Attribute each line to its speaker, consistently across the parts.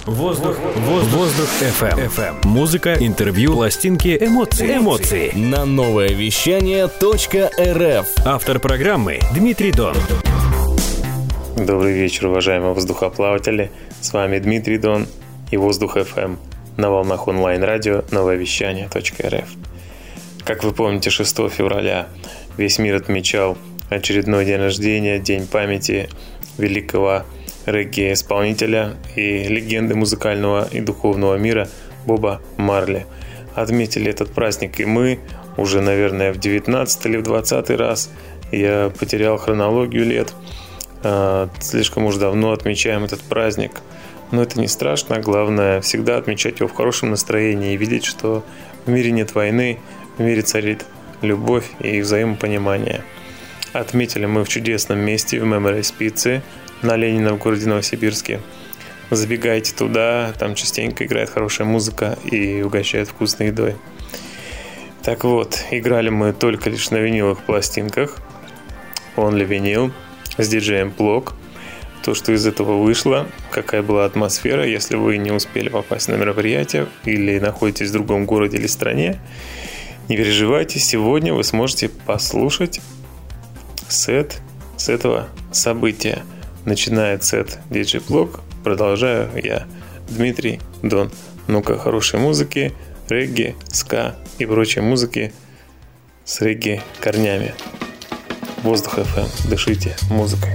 Speaker 1: Воздух FM. Музыка, интервью, пластинки, эмоции.
Speaker 2: На новое вещание.рф.
Speaker 1: Автор программы Дмитрий Дон.
Speaker 3: Добрый вечер, уважаемые воздухоплаватели. С вами Дмитрий Дон и Воздух FM на волнах онлайн-радио новое вещание.рф. Как вы помните, 6 февраля весь мир отмечал очередной день рождения, день памяти великого регги-исполнителя и легенды музыкального и духовного мира Боба Марли. Отметили этот праздник и мы уже, наверное, в 19 или в 20 раз. Я потерял хронологию лет. Слишком уж давно отмечаем этот праздник. Но это не страшно. Главное всегда отмечать его в хорошем настроении и видеть, что в мире нет войны, в мире царит любовь и взаимопонимание. Отметили мы в чудесном месте в Memories Pizza на Ленина в городе Новосибирске. Забегайте туда, там частенько играет хорошая музыка и угощают вкусной едой. Так вот, играли мы только лишь на виниловых пластинках, Only Vinyl, с диджеем Плок. То, что из этого вышло, какая была атмосфера, если вы не успели попасть на мероприятие или находитесь в другом городе или стране, не переживайте, сегодня вы сможете послушать сет с этого события. Начинает сет диджей Плок, продолжаю я, Дмитрий Дон. Ну-ка, хорошей музыки, регги, ска и прочей музыки с регги корнями. Воздух FM, дышите музыкой.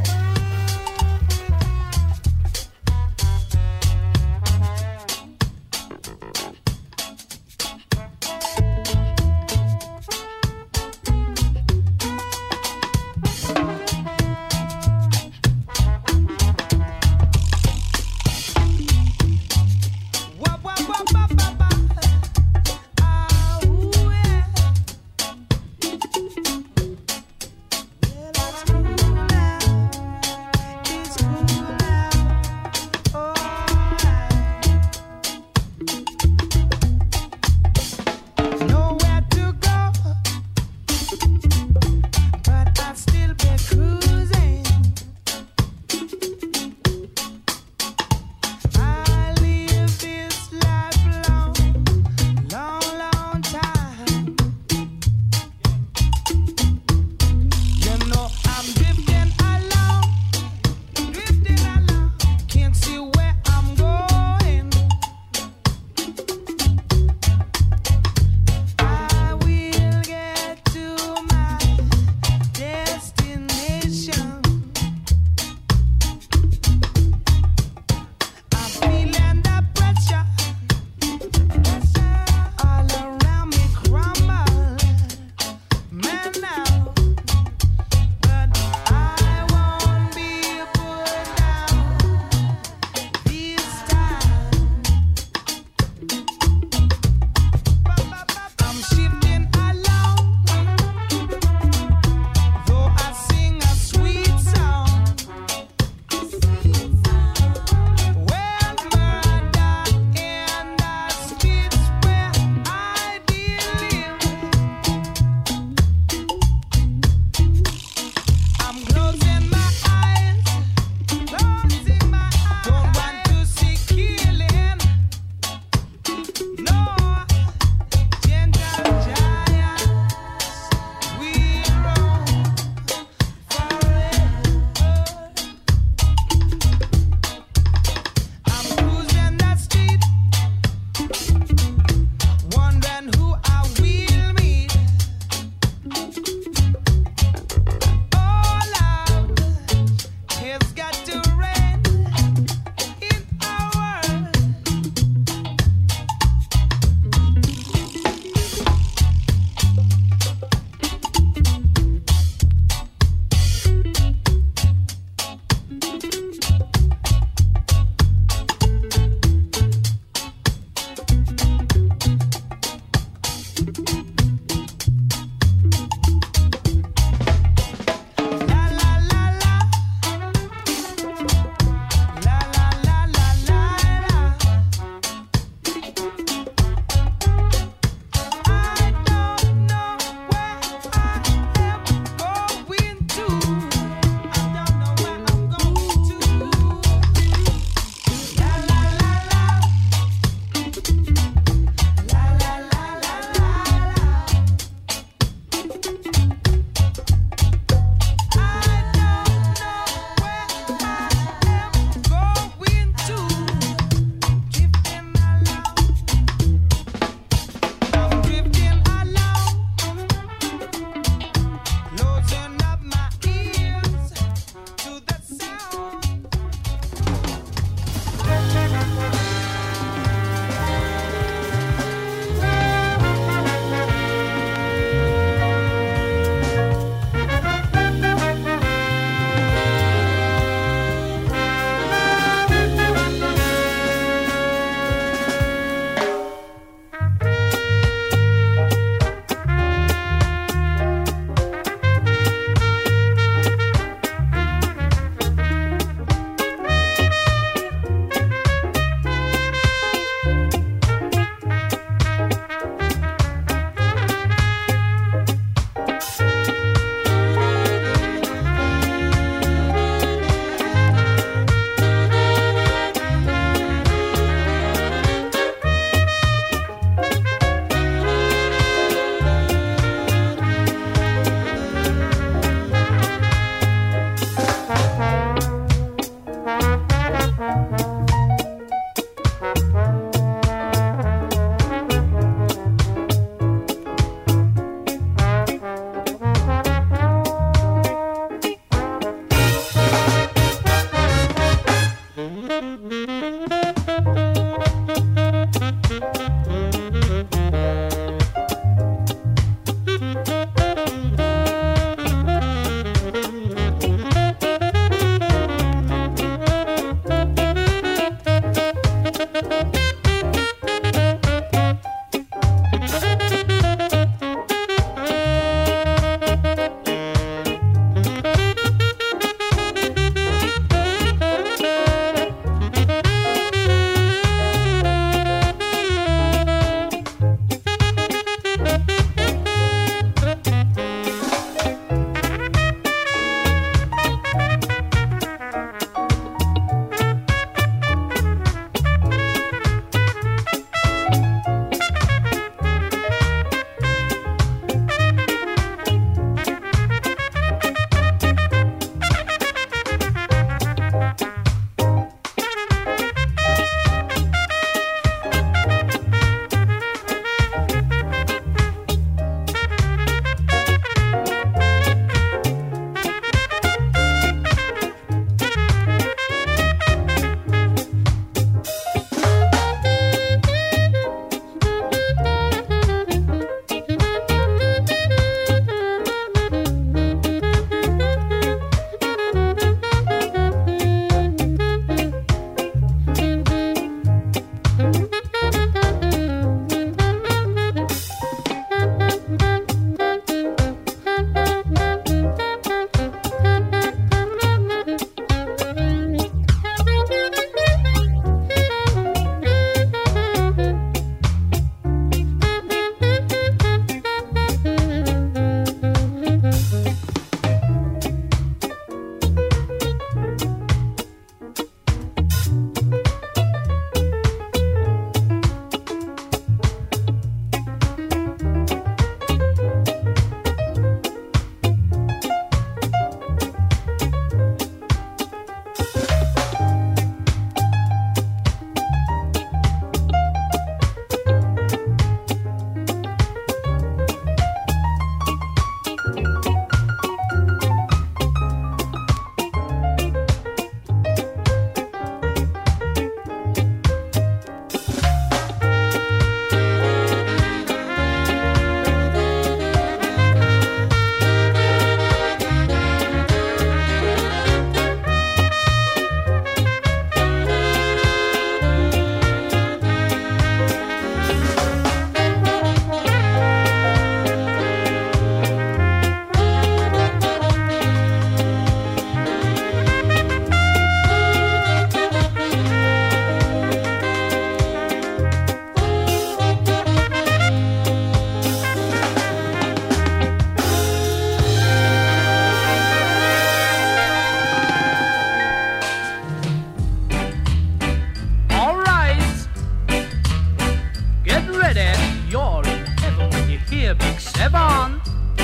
Speaker 4: on.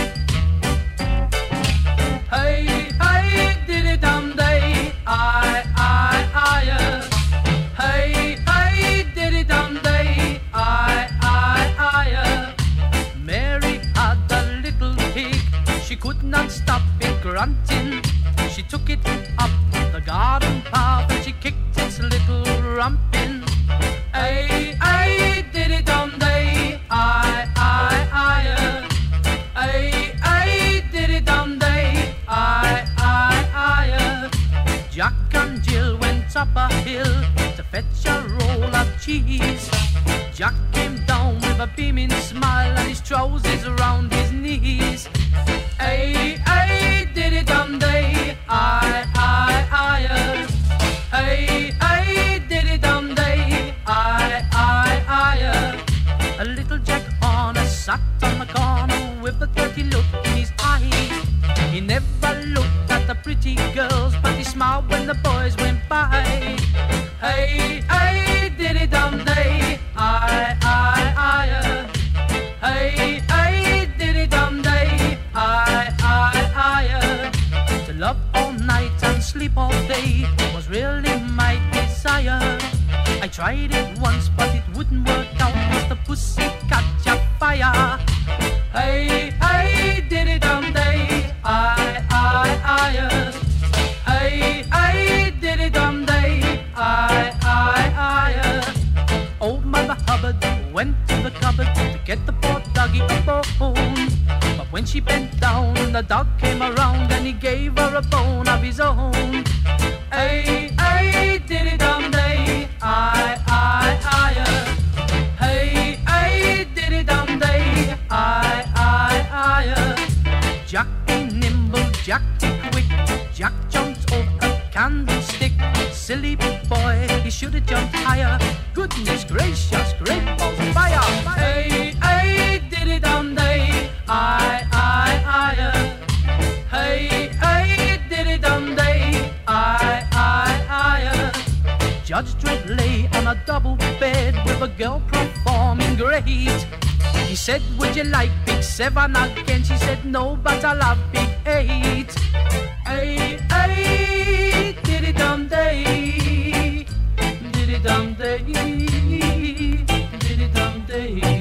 Speaker 4: Hey, hey, diddy-dum-day, I. Hey, hey, diddy-dum-day, I. Mary had a little pig, she could not stop it grunting. She took it up the garden path and she kicked its little rump in. Hey, hey, diddy-dum-day, I. Hey, hey, diddy-dum-day, I. Jack and Jill went up a hill to fetch a roll of cheese. Jack came down with a beaming smile and his trousers around his knees. Hey, hey, diddy-dum-day, I. Hey, hey, diddy-dum-day, I. A little Jack Horner sat on the corner with a dirty look in his eye. He never looked at the pretty girls, but he smiled when the boys went by. Hey, hey, diddy-dum-day, I. Hey, hey, diddy-dum-day, I. To love all night and sleep all day was really my desire. I tried it once, but it wouldn't work out, 'cause the pussy catch a fire. Hey, hey, diddy-dum-day, I. Hey, hey, diddy-dum-day, I. Old Mother Hubbard went to the cupboard to get the poor doggy a bone. But when she bent down, the dog came around and he gave her a bone of his own. Hey, hey, diddy-dum-day, I. Hey, hey, diddy-dum-day, I. Jack be nimble, Jack be quick, Jack jumped over a candlestick. Silly boy, he should have jumped higher. Goodness gracious, great balls of fire. Hey, hey, diddy-dum-day, I. Hey, hey, diddy-dum-day, I. Judge Dredd lay on a double bed with a girl performing great. He said, would you like Big 7 again? She said, no, but I love Big 8. Hey, hey, diddy-dum-day, diddy-dum-day, diddy-dum-day.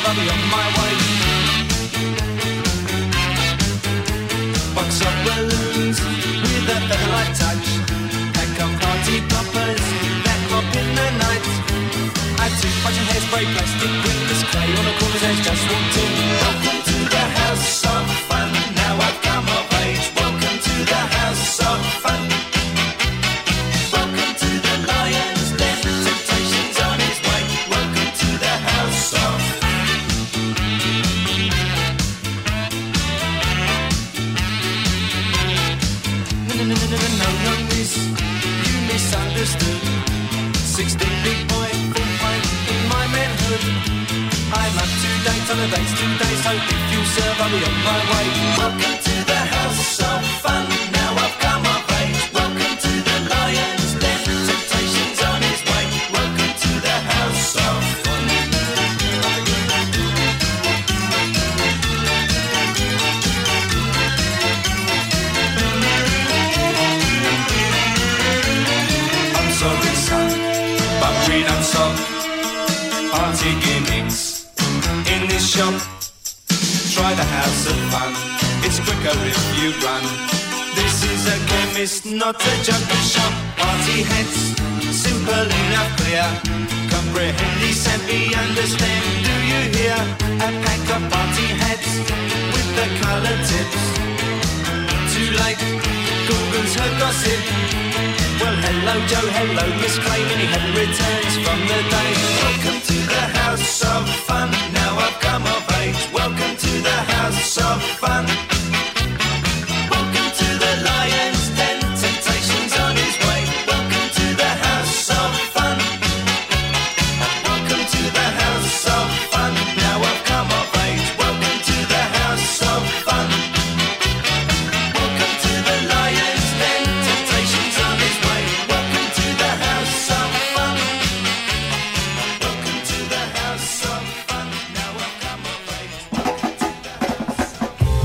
Speaker 5: I'll be on my way. Box of balloons with a featherlight touch. Pack of party poppers that pop in the night. I took bunch of hairspray, plastic, quickness, clay on the corner's edge, just walked in. Welcome to the house of fun. Now I've come of age. Welcome to the house of fun. Welcome to the lion's den. Temptation's on his way. Welcome to the house of No, miss, you misunderstood. 16 big boy, full pint in my manhood. I'm up to date on the dates today, so if you serve, I'll be on my way. Welcome to the house of fun. Now I've come of age. Welcome to the lion's den. Temptation's on his way. Welcome to the house of fun. I'm sorry, son, but we don't stop. Party gimmicks in this shop. Try the house of fun. It's quicker if you run. This is a chemist, not a jungle shop. Party hats, simple enough, clear. Comprehend these and be understand. Do you hear? A pack of party hats with the colored tips. Too late, Google's her gossip. Well, hello Joe, hello Miss Clay. Many had returns from the day. Welcome to the house of fun. Now I've come of age. Welcome to the house of fun. Welcome to the lion's den. Temptation's on his way. Welcome to the house of fun. Welcome to the house of fun. Now I've come of age. Welcome to the house of fun. Welcome to the lion's den. Temptation's on his way. Welcome to the house of fun. Welcome to the house of fun. Now I've come of age. Welcome to the house.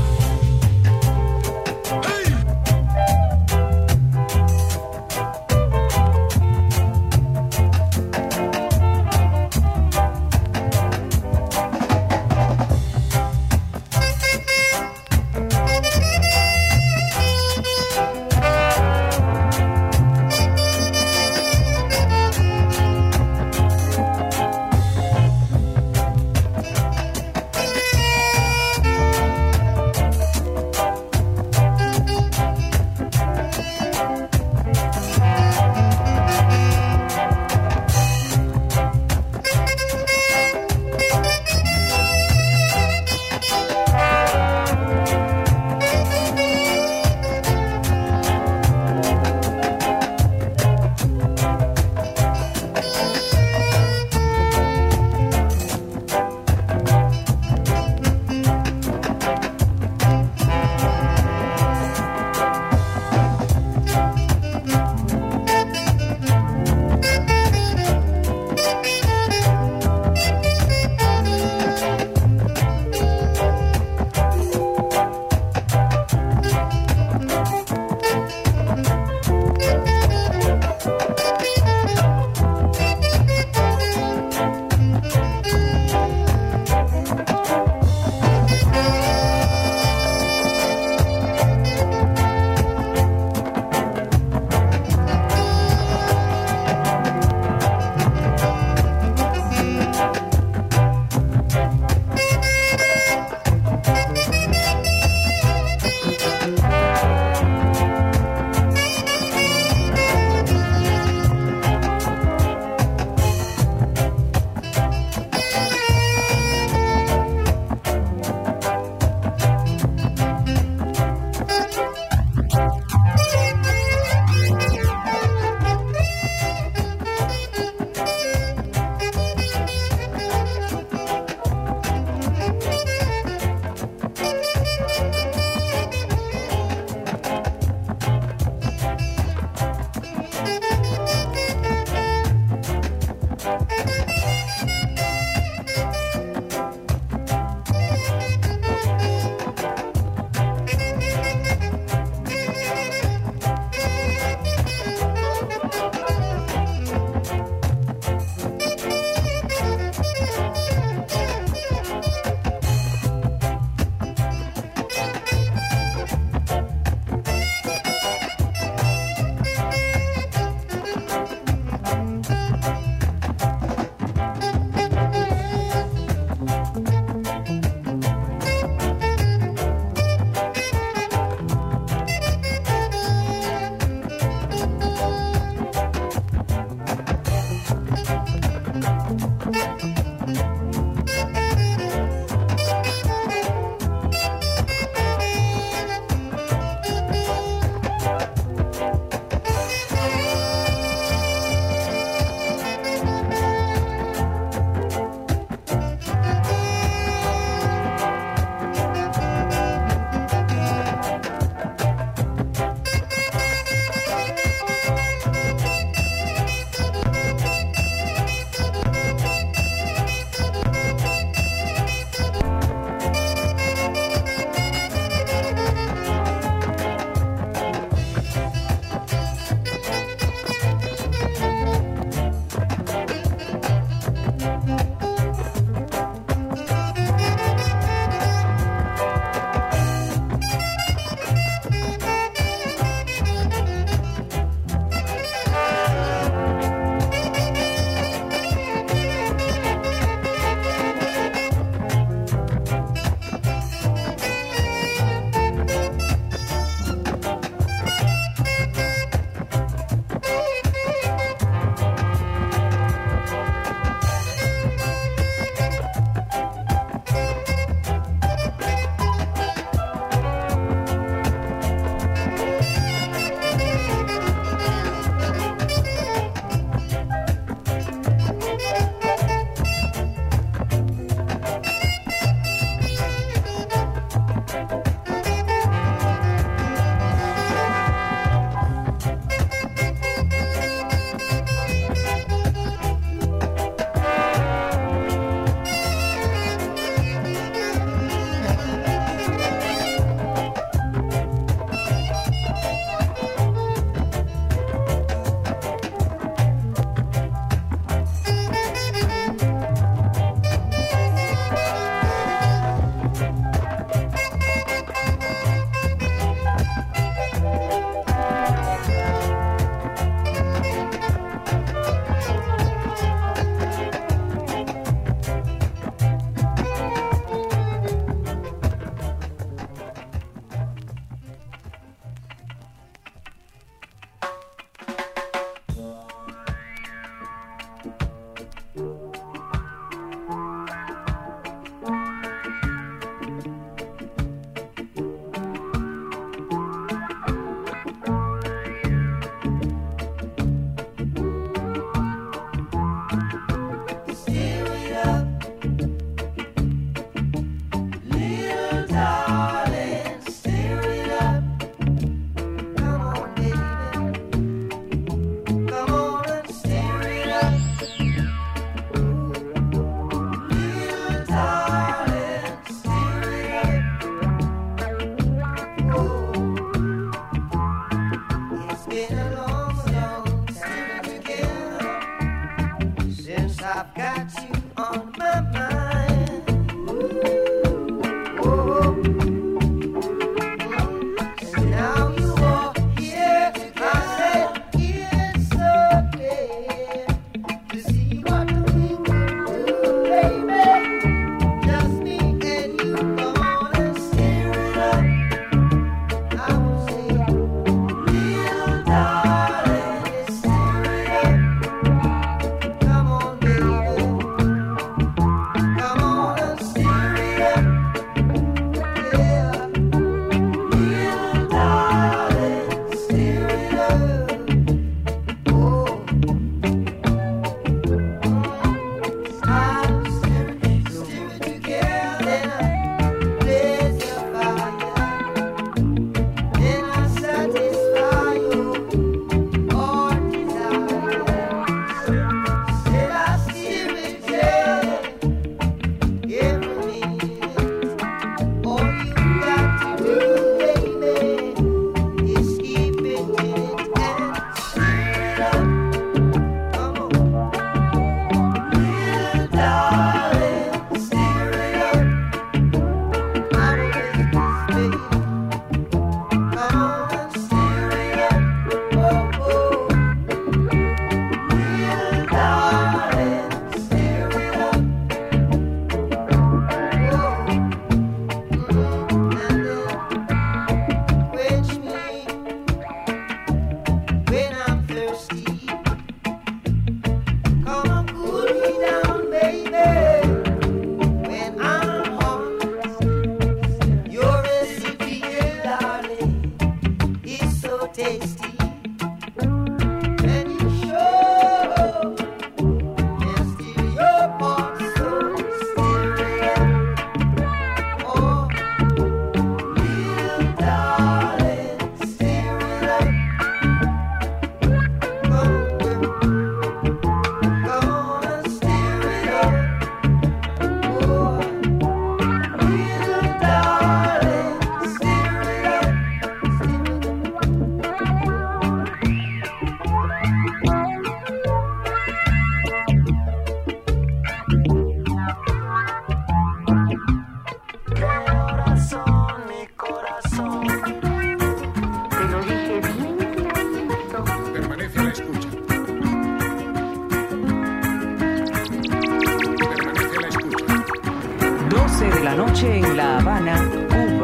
Speaker 6: En La Habana, Cuba.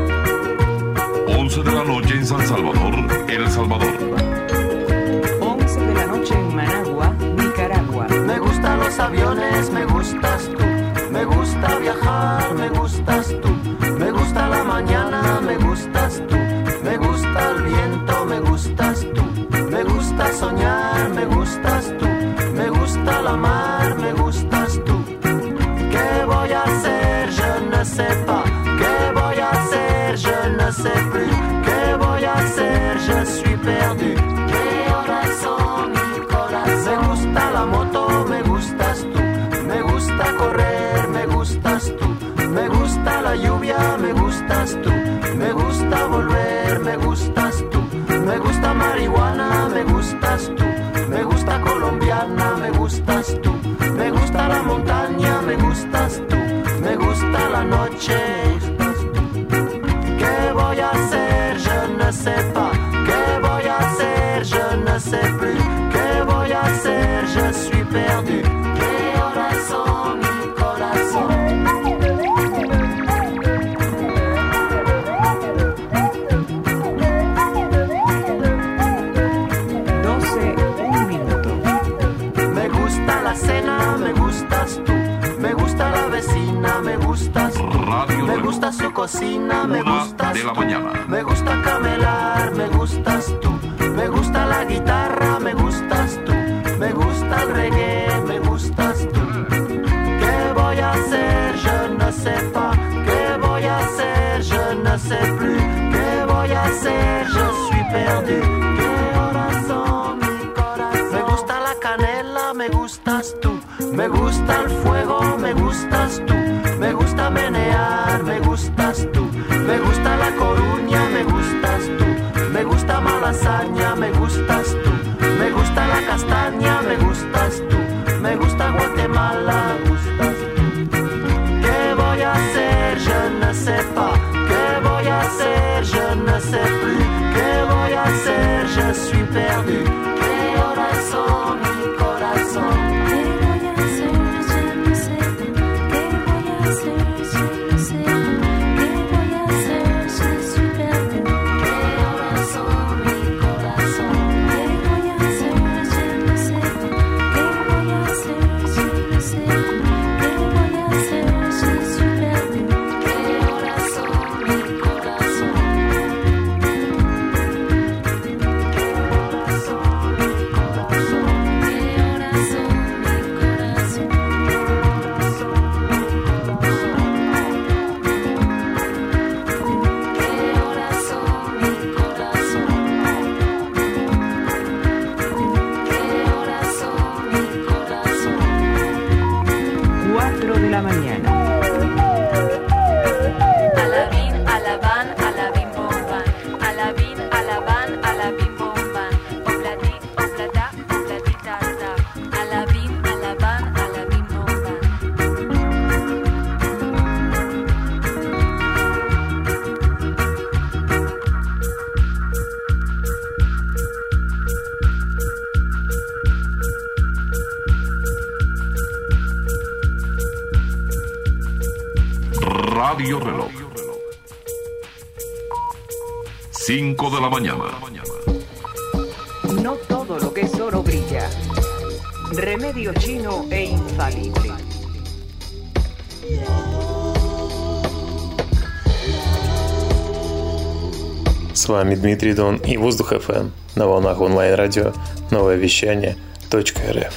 Speaker 7: 11 de la noche en San Salvador, El Salvador.
Speaker 6: 11 de la noche en Managua, Nicaragua.
Speaker 8: Me gustan los aviones, me gustas tú. Me gusta viajar, me gustas tú. Me gusta la mañana, me gustas tú. Me gusta el viento, me gustas tú. Me gusta soñar, me gustas tú. Me gusta la mar, me gustas tú. ¿Qué voy a hacer? Je ne sais pas. ¿Qué voy a hacer? Je ne sais plus. ¿Qué voy a hacer? Je suis perdu. ¿Qué horas son, mi corazón? Me gusta la moto, me gustas tú. Me gusta correr, me gustas tú. Me gusta la lluvia, me gustas tú. Me gusta volver, me gustas tú. Me gusta marihuana, me gustas tú. Me gusta colombiana, me gustas tú. Me gusta la montaña, me gustas tú. Me gusta la noche, me gustas tú. ¿Qué voy a hacer? Je ne sais pas. ¿Qué voy a hacer? Je ne sais plus. ¿Qué voy a hacer? Je suis perdu. ¿Qué horas son, mi corazón? La cena vecina, me gustas tú.
Speaker 7: Radio
Speaker 8: Me
Speaker 7: Reloj.
Speaker 8: gusta su cocina, me
Speaker 7: 1
Speaker 8: gustas
Speaker 7: de la
Speaker 8: tú.
Speaker 7: mañana.
Speaker 8: Me gusta camelar, me gustas tú. Me gusta la guitarra, me gustas tú. Me gusta el reggae, me gustas tú. ¿Qué voy a hacer? Je ne sais pas. ¿Qué voy a hacer? Je ne sais plus. ¿Qué voy a hacer? Je suis perdu. ¿Qué horas son, mi corazón? Me gusta la canela, me gustas tú. Me gusta el fuego, me gustas tú. Me gusta menear, me gustas tú. Me gusta La Coruña, me gustas tú. Me gusta Malasaña, me gustas tú. Me gusta la castaña, me gustas tú. Me gusta Guatemala, me gustas tú. ¿Qué voy a hacer? Je ne sais pas. ¿Qué voy a hacer? Je ne sais plus. ¿Qué voy a hacer? Je suis perdu. ¿Qué horas son, mi corazón?
Speaker 7: Radio Reloj. 5 de la mañana.
Speaker 6: No todo lo que es oro brilla. Remedio chino e infalible.
Speaker 3: С вами Дмитрий Дон и Воздух FM на волнах онлайн-радио «Новое вещание .рф».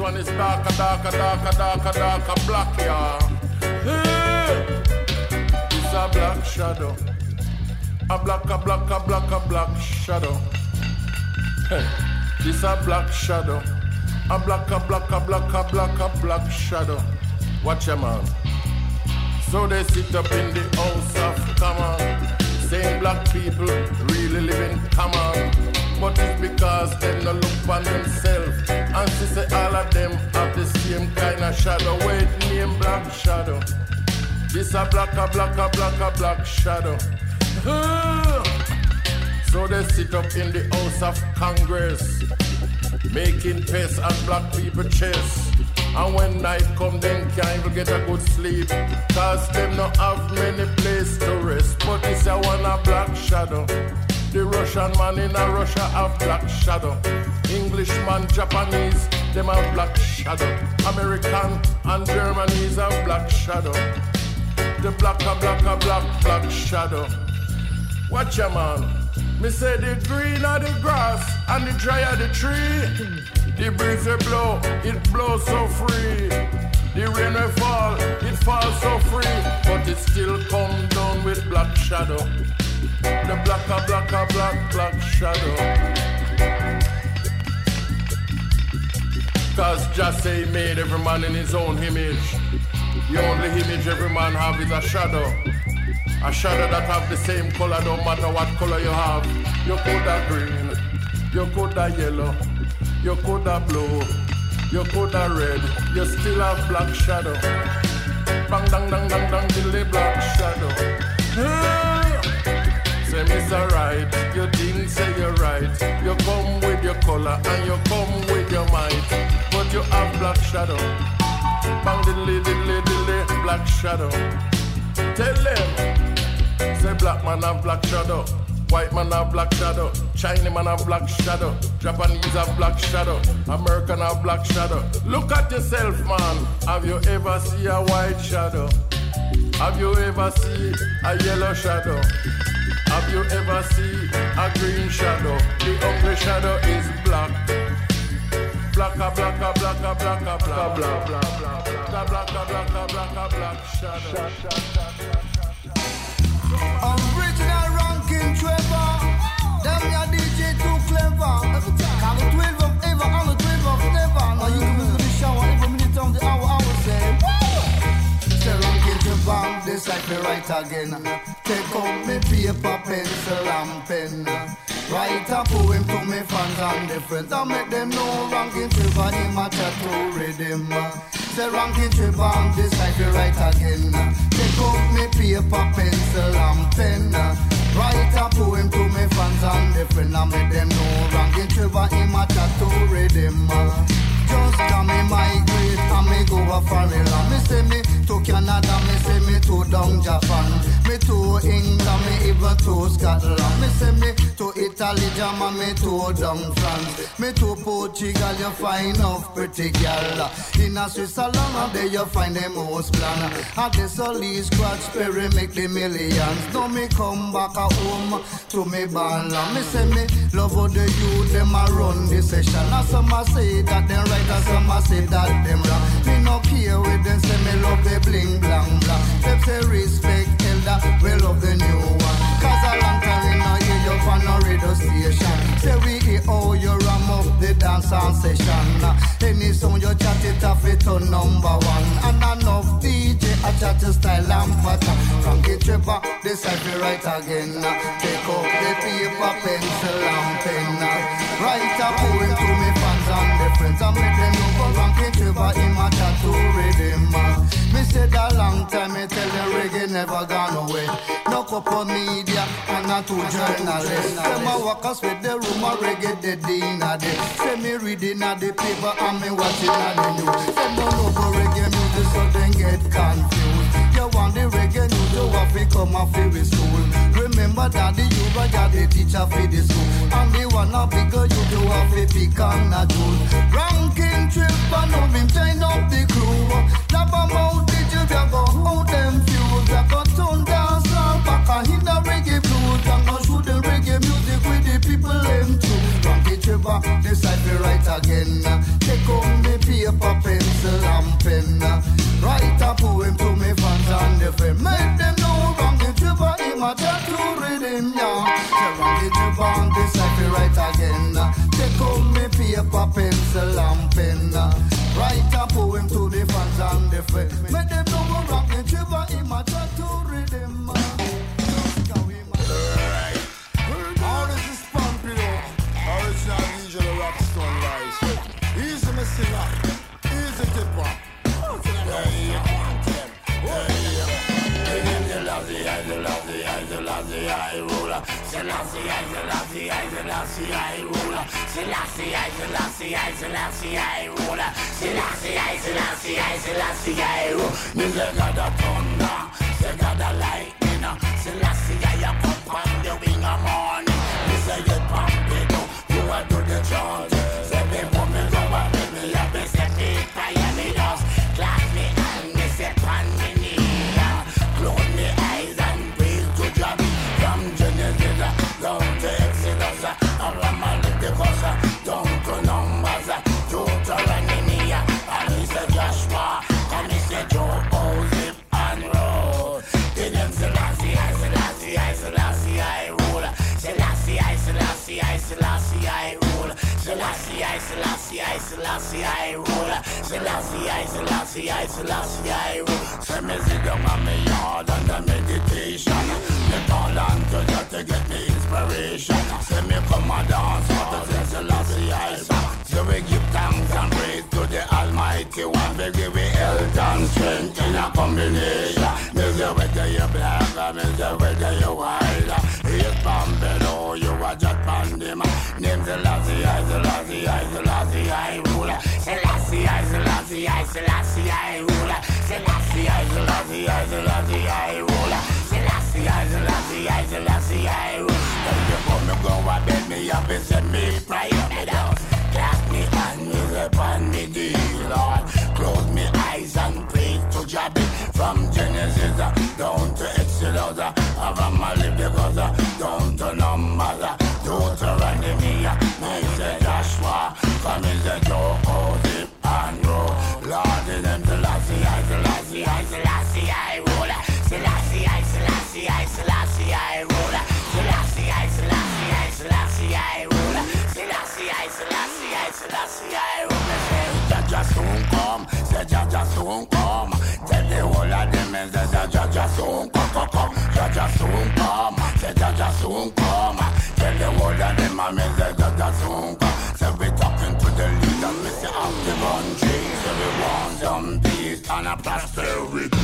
Speaker 9: one is darker, darker, darker, darker, darker black, yeah. It's a black shadow. A black shadow. Hey, this a black shadow. A black shadow. Watch your man. So they sit up in the house of common, saying black people really live in common. But it's because them no look on themselves, and she say all of them have the same kind of shadow. Wait, name black shadow. This a black shadow. So they sit up in the House of Congress, making peace at black people's chest. And when night come, then can't even get a good sleep, cause them not have many place to rest. But it's a one a black shadow. The Russian man in a Russia have black shadow. Englishman, Japanese, them have black shadow. American and Germany's have black shadow. The black shadow. Watch ya man. Me say the green of the grass and the dry of the tree. The breeze will blow, it blows so free. The rain will fall, it falls so free. But it still come down with black shadow. The black shadow. Cause just say he made every man in his own image. The only image every man have is a shadow. A shadow that have the same color, don't matter what color you have. You could have green, you could have yellow, you could have blue, you could have red, you still have black shadow. Bang, dang, dang, dang, dang, till the black shadow. Say Mr. Right, you didn't say you're right. You come with your color and you come with your might, but you have black shadow. Bang, diddly, diddly, diddly, black shadow. Tell them, say black man have black shadow, white man have black shadow, Chinese man have black shadow, Japanese have black shadow, American have black shadow. Look at yourself, man. Have you ever seen a white shadow? Have you ever seen a yellow shadow? Have you ever seen a green shadow? The ugly shadow is black. Black shadow.
Speaker 10: Original ranking Trevor. Them your DJ too clever. Call the 12 of ever on the 12 of never. Now you can visit the shower every minute of the hour. I will say, woo! Say ranking Trevor, this like me right again. Take out me paper, pencil and pen. Write a poem to me fans and the friends. I make them know ranking Trevor in my tattoo rhythm. Say ranking Trevor, this like me right again. Take out me paper, pencil and pen. Write a poem to me fans and the friends. I make them know ranking Trevor in my tattoo rhythm. Just come me migrate and me go a foreign land. Me say me to Canada, me say me to down Japan, me to England, me even to Scotland. Me say me to Italy, Germany, me to down France, me to Portugal. You find enough pretty girl. In a Switzerland, there you find the most plan. And the solid scratch perry make the millions. Now me come back at home to me band. Me say me love how the youth them a run the session. And some a say that them right, and some a say that them wrong. Me no care with them say me love the bling blang blang. Them say respect elder, we love the new one. Cause a long time we no hear you on no radio station. Say we hear how you ram up the dance and session. Any song you chat it off it on number one. And enough DJ a chat your style and pattern. Frankie Trevor, this I be right again. Take up the paper, pencil and pen. Write a poem to me fans and the friends. And make them know for Frankie Trevor in my tattoo rhythm. Me said a long time, me tell the reggae never gone away. No couple media and not two journalists. Them a walk us with the room a reggae dead in a day. Say me reading a the paper and me watching a the news. Them don't know for reggae music so then get confused. You want the reggae news, you have to come off with school. Remember that the you got the teacher for the school. And the one a bigger you do have to pick on a tool. Ranking trip and now him join up the crew. Lab about the you go out them fuse. You go turn dance and back and hit the reggae blues. You go shoot the reggae music with the people them too. Ranking Trevor, this I be right again. Take on the paper, Make them know Ranking Tripper in my tattoo rhythm, yeah. Say Ranking Tripper on this I feel right again. Take out me paper, pencil and pen. Write a poem to the fans and the friends. Make them know Ranking Tripper in my tattoo rhythm.
Speaker 9: Alright. All this is Pompeo. Original DJ the Rockstone Rice. Easy me singer. Easy tipper. I ruler. Selassie, I ruler. Selassie, I ruler. Selassie, I rule. Music got the thunder, they got the lightning. Selassie, I pump on the wing of morning. Me say you pump it up, you a do the chant. Say before me go up, me up, me say me fire me dust. Clap me and me say pan me knee. Close me eyes and breathe to job. From Genesis down to Exodus, around my Leviticus, down to Numbers, Deuteronomy, and he said Joshua, and he said Joe, Zip and Roll. The name Selassie, I rule. Selassie, I rule. Selassie, I rule. Selassie, I rule. Say me sit down on me yard under meditation. Me call on to God to get me inspiration. Say me come and dance out to Selassie, I say we give thanks and praise to the Almighty One. We give it health and strength in a combination. Measure whether you're black, measure whether you're white. Yes, Bambino, you are just pandem. Name Selassie, I ruler. Selassie, I ruler. Selassie, I ruler. Selassie, I rule. When you come, you go and bed me up and send me prayer me down. Clasp me and me upon me deal, Lord. Close me eyes and pray to Jabby. From Genesis down to Exodus, from my Leviticus down to Numbers, Deuteronomy, me say Joshua, come in the Joe, Zip and Roll. Lord, in them Selassie, I rule. Selassie, I rule. Selassie, I rule. Jaja soon come, say Jaja soon come. Tell the whole of them and say Jaja soon come. Jaja soon come, say Jaja soon come. Tell the whole of them and say Jaja soon come. Say we talking to the leaders, we say of the country. Say we want some peace and a prosperity.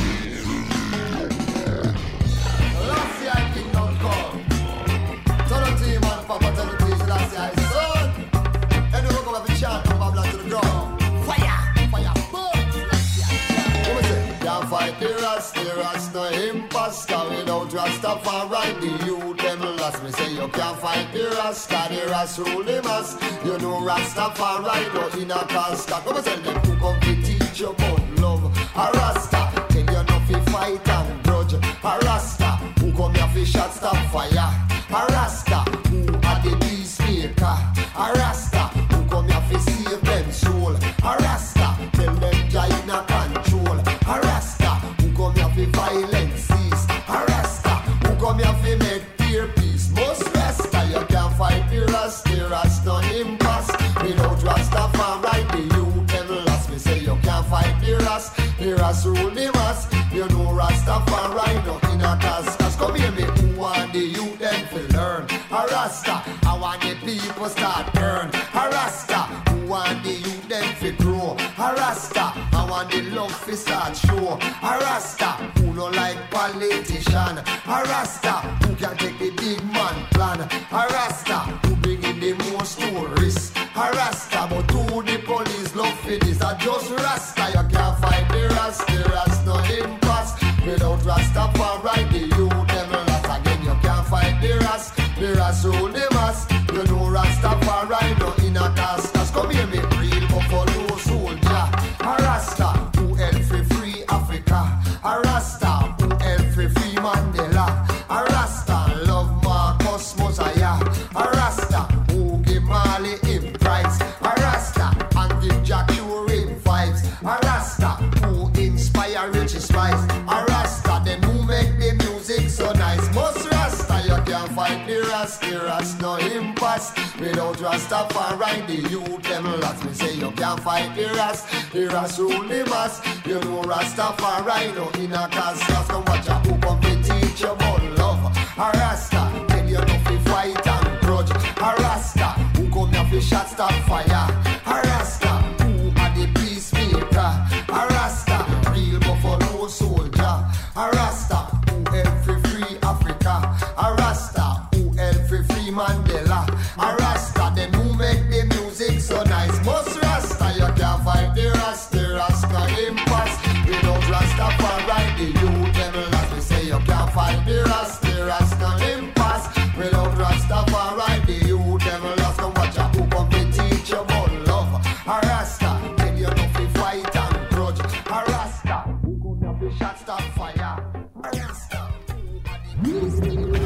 Speaker 10: Selassie, I kingdom come. Tell the team and Papa tell the team Selassie, I son. And we go have a chant from Babylon to the ground. Fire, boom. What we say? Can't fight the Ras, no imposter. Without Rastafari, the youth them lost. Me say you can't fight the Ras rule the mass. You know Rastafari, no in a casket. What we say? Them who come to teach you about love. A Rasta, tell you not to fight and grudge. A Rasta, who come here for shot stop fire. A Rasta, who are the peacemaker. A Rasta, who come here for save them soul. A Rasta, tell them join a control. A Rasta, who come here for violence cease. A Rasta, who come here for make peer peace. Most Rasta, you can't fight the Ras no impasse. Without Rastafari, the youth them lost. Me say you can't fight the Ras rule the mass. You know Rastafari, no in a task. Come here, me who want the youth them to learn. A Rasta, I want the people start burn. A Rasta, who want the youth them to grow. A Rasta, I want the love to start show. A Rasta, who no like politician. A Rasta, who can take the big man plan. A Rasta, who bring in the most tourists. A Rasta, but who the police love for this. I just Rasta, you can't fight the Ras no impasse. Without Rastafari, the youth them lost. Again, you can't fight the Ras rule the mass. You know Rastafari, no in a task. Come here, me real buffalo soldier. A Rasta, who help free Africa. A Rasta, who help free Mandela. A Rasta, love Marcus Mosiah. A Rasta, who give Mali him prize. A Rasta, and give Jack Ure him vibes. A Rasta, who inspire
Speaker 8: us no impasse. Without Rastafari, the youth them lost. Me say you can't fight the Ras rule the mass. You know Rastafari no in a cast. Just come watch a who come to teach you about love. A Rasta, tell you no fi fight and grudge. A Rasta, who come here fi shot stop fire. A Rasta, who are the peacemaker. A Rasta, real buffalo soldier. A Rasta, who help fi free Africa. A Rasta, who help fi free Mandela. A Rasta, them who make the music so nice. Most Rasta, you can't fight the Rasta impasse. Without Rastafari, the youth them lost. We say you can't fight the Rasta impasse. Without Rastafari, the youth them lost. Come watch a who come to teach you about love. A Rasta, tell you no fi fight and grudge. A Rasta, who come here fi shot stop fire. A Rasta, who are the peacemakers.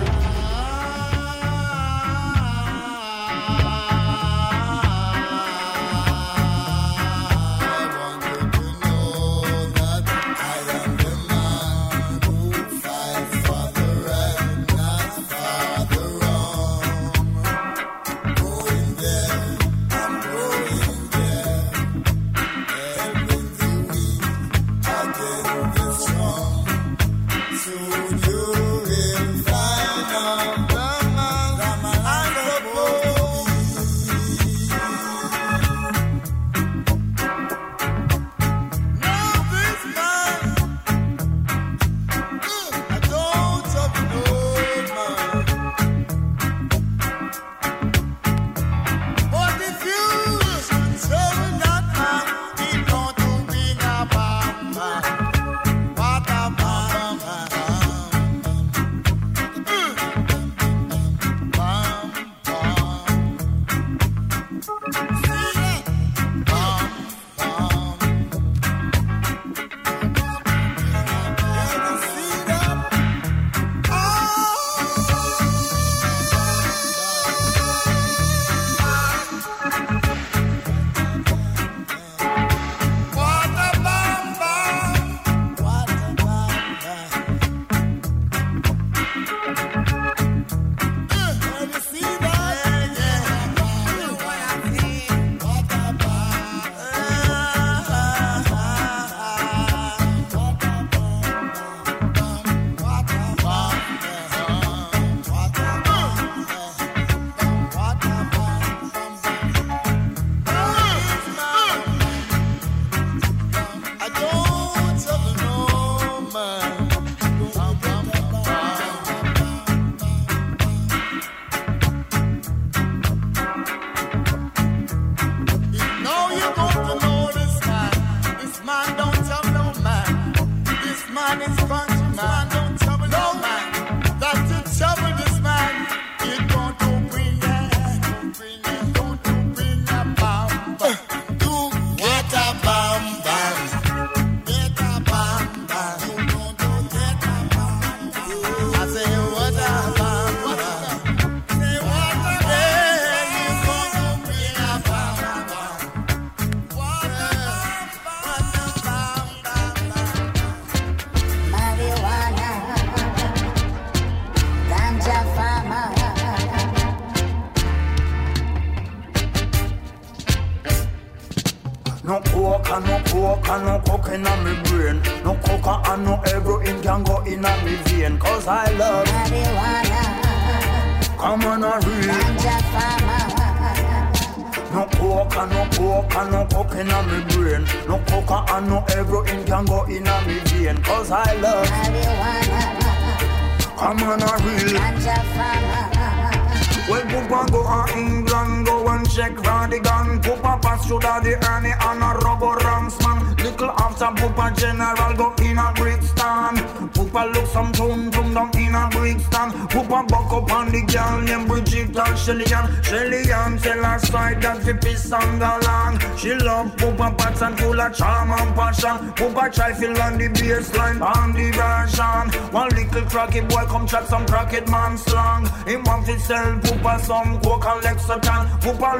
Speaker 11: No coke and no coke and no coke in my brain. No coca and no heroin can go in me vein. Cause I love marijuana. Come on a real ganja farmer. No coke and no coke and no coke in my brain. No coca and no heroin can go in me vein. Cause I love marijuana. Come on a real ganja farmer. Well, Poopa go to England, go and check for the gun. Poopa pass through the Ernie and a rubber ranks man. Little after Poopa general go in a Brixton. Poopa look some tune down in a Brixton. Poopa buck up on the girl named Bridget and Shelly-Ann tell her side that the piss and galang. She love Poopa pats and full of charm and passion. Poopa try fill on the baseline on the version. One little cracky boy come chat some cracked man slang. He want to sell Poopa some coke and Lexington. Poopa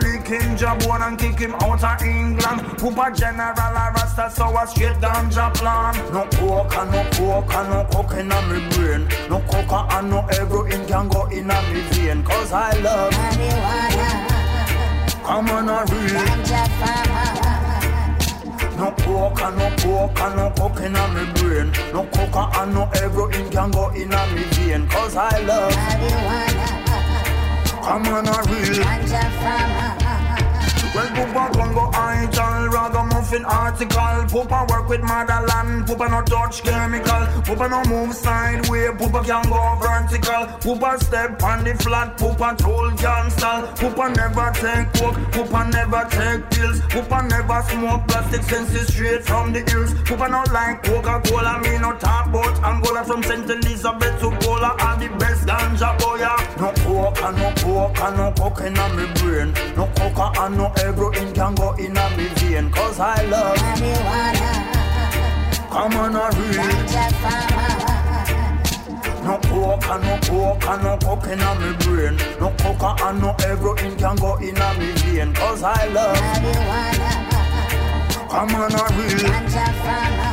Speaker 11: lick him jabon and kick him out of England. Poopa general a rasta, so a straight ganja plan. No coke and no coke in me brain. No coca and no heroin can go in me vein. Cause I love marijuana. Come on a real ganja farmer. No coke and no coke in me brain. No coca and no heroin can go in me vein. Cause I love marijuana. Come on a real ganja farmer. Well, Poopa Congo idol, ragamuffin article. Poopa work with motherland, Poopa no touch chemical. Poopa no move sideway, Poopa can go vertical. Poopa step on the flat, Poopa tool can stall. Poopa never take coke, Poopa never take pills. Poopa never smoke plastic senses straight from the hills. Poopa no like Coca-Cola, me no talk about Angola. From St. Elizabeth to Gola, are the best ganja boya. No coke and no coke in me brain. No coca and no heroin can go in me vein. Cause I love marijuana. Come on a real ganja farmer. No coke and no coke in me brain. No coca and no heroin can go in me vein. Cause I love marijuana. Come on a real ganja farmer.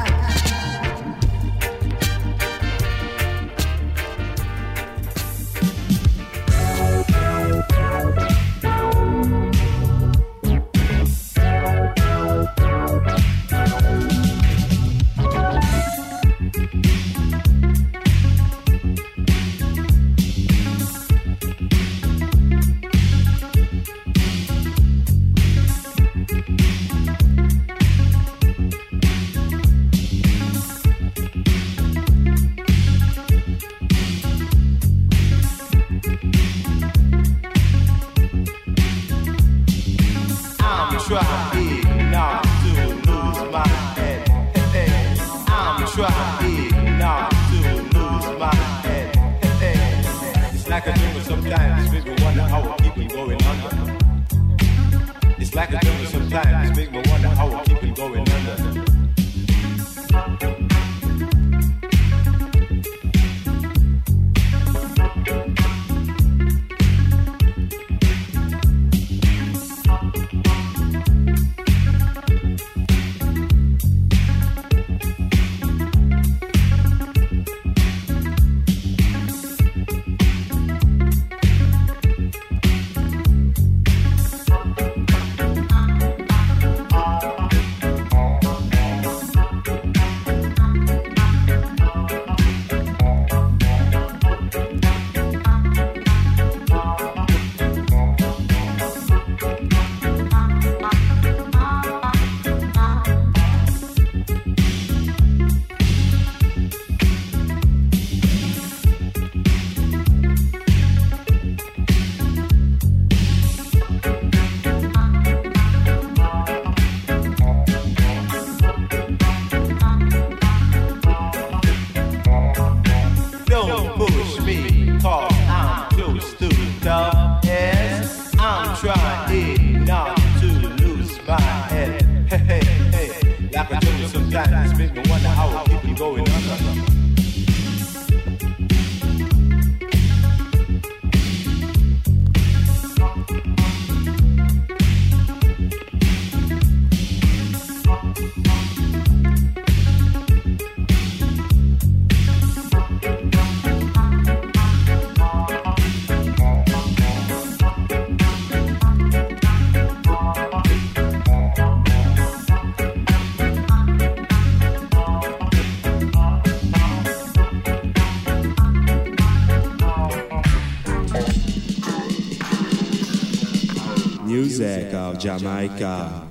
Speaker 12: Music of Jamaica.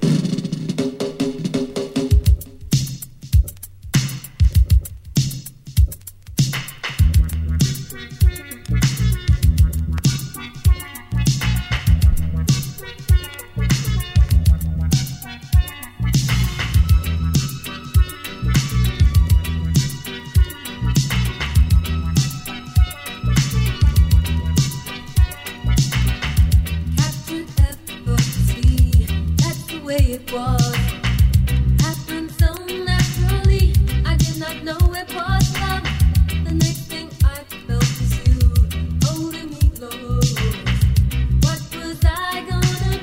Speaker 13: What was I gonna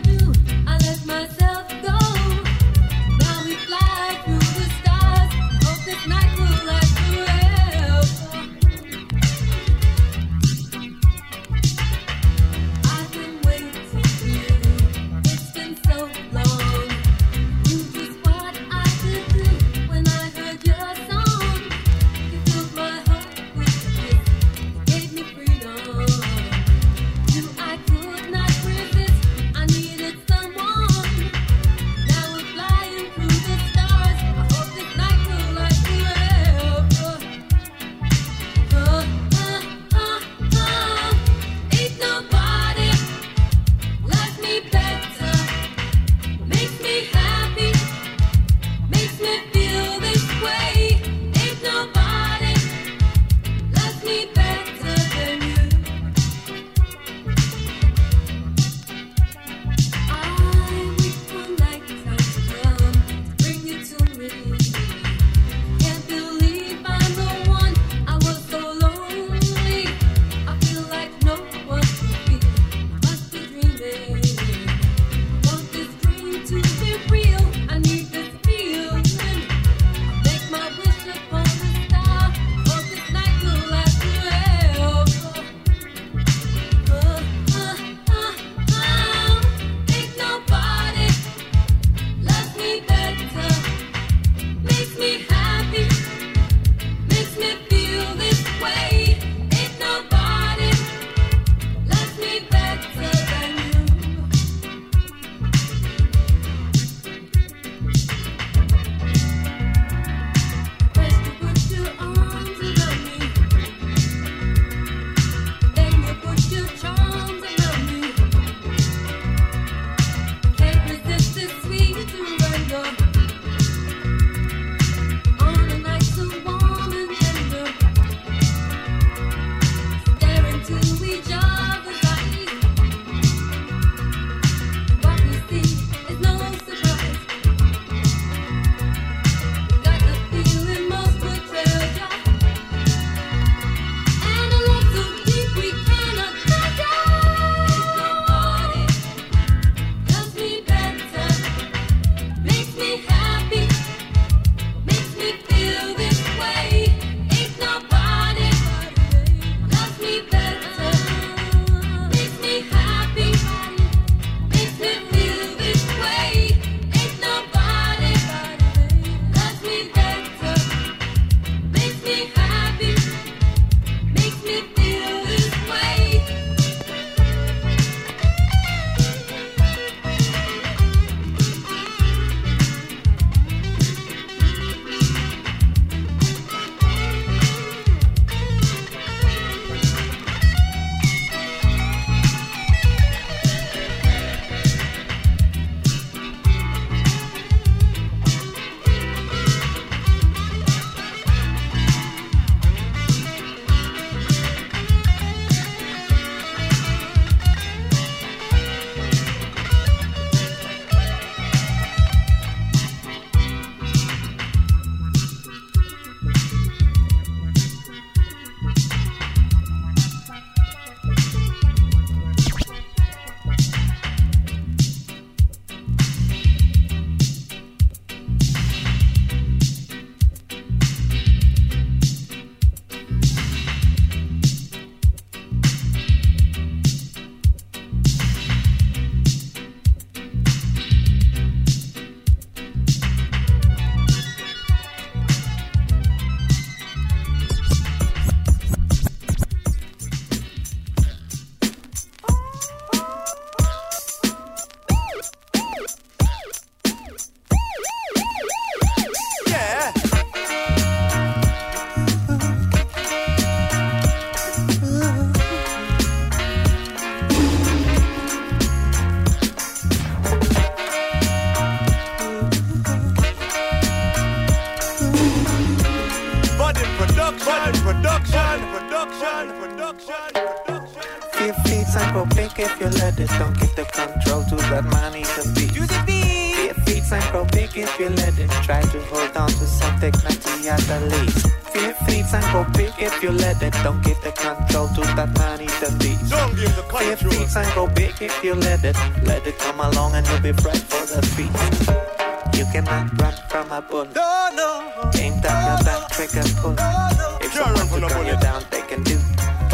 Speaker 13: Feel feet and go big if you let it. Don't give the control to that money to beat. Feel feet and go big if you let it. Try to hold on to some dignity at the least. Feel feet and go big if you let it. Don't give the control to that money to beat.
Speaker 9: Don't give the control.
Speaker 13: Feel feet and go big if you let it. Let it come along and you'll be right for the feet. You cannot run from a bull. No. Aim down your back, trigger pull. If someone to gun you down, they can do.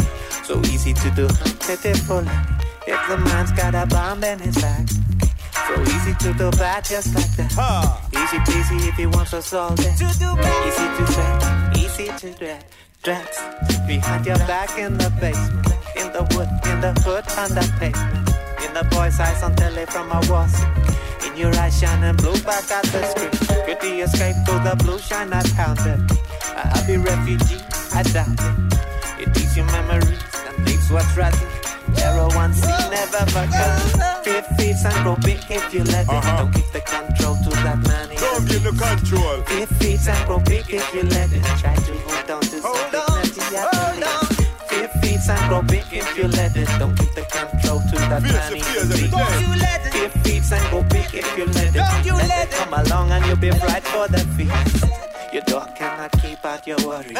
Speaker 13: So easy to do, pitiful. If the man's got a bomb in his back, so easy to do bad just like that. Easy peasy if he wants us all dead. Easy to say, easy to dread. Dreads behind your back in the basement, in the wood, in the hood, on the pavement. In the boy's eyes on telly from a wall. In your eyes shining blue back at the screen. Could the escape to the blue shine I found it. A happy refugee, I doubt it. It leaves your memories and leaves what's rotten. Arrow one C never forgot. Feel feet and grow big if you let it. Don't give the control to that money.
Speaker 9: Don't give the control.
Speaker 13: Feel feet and grow big if you let it. Try to hold on to some dignity at the least. Feel feet and grow big if you let it. Don't give the control to that money. Don't you let it. Feel feet and grow big if you let it. Don't you let it. Come along and you'll be right for the feet. Your dog cannot keep out your worries.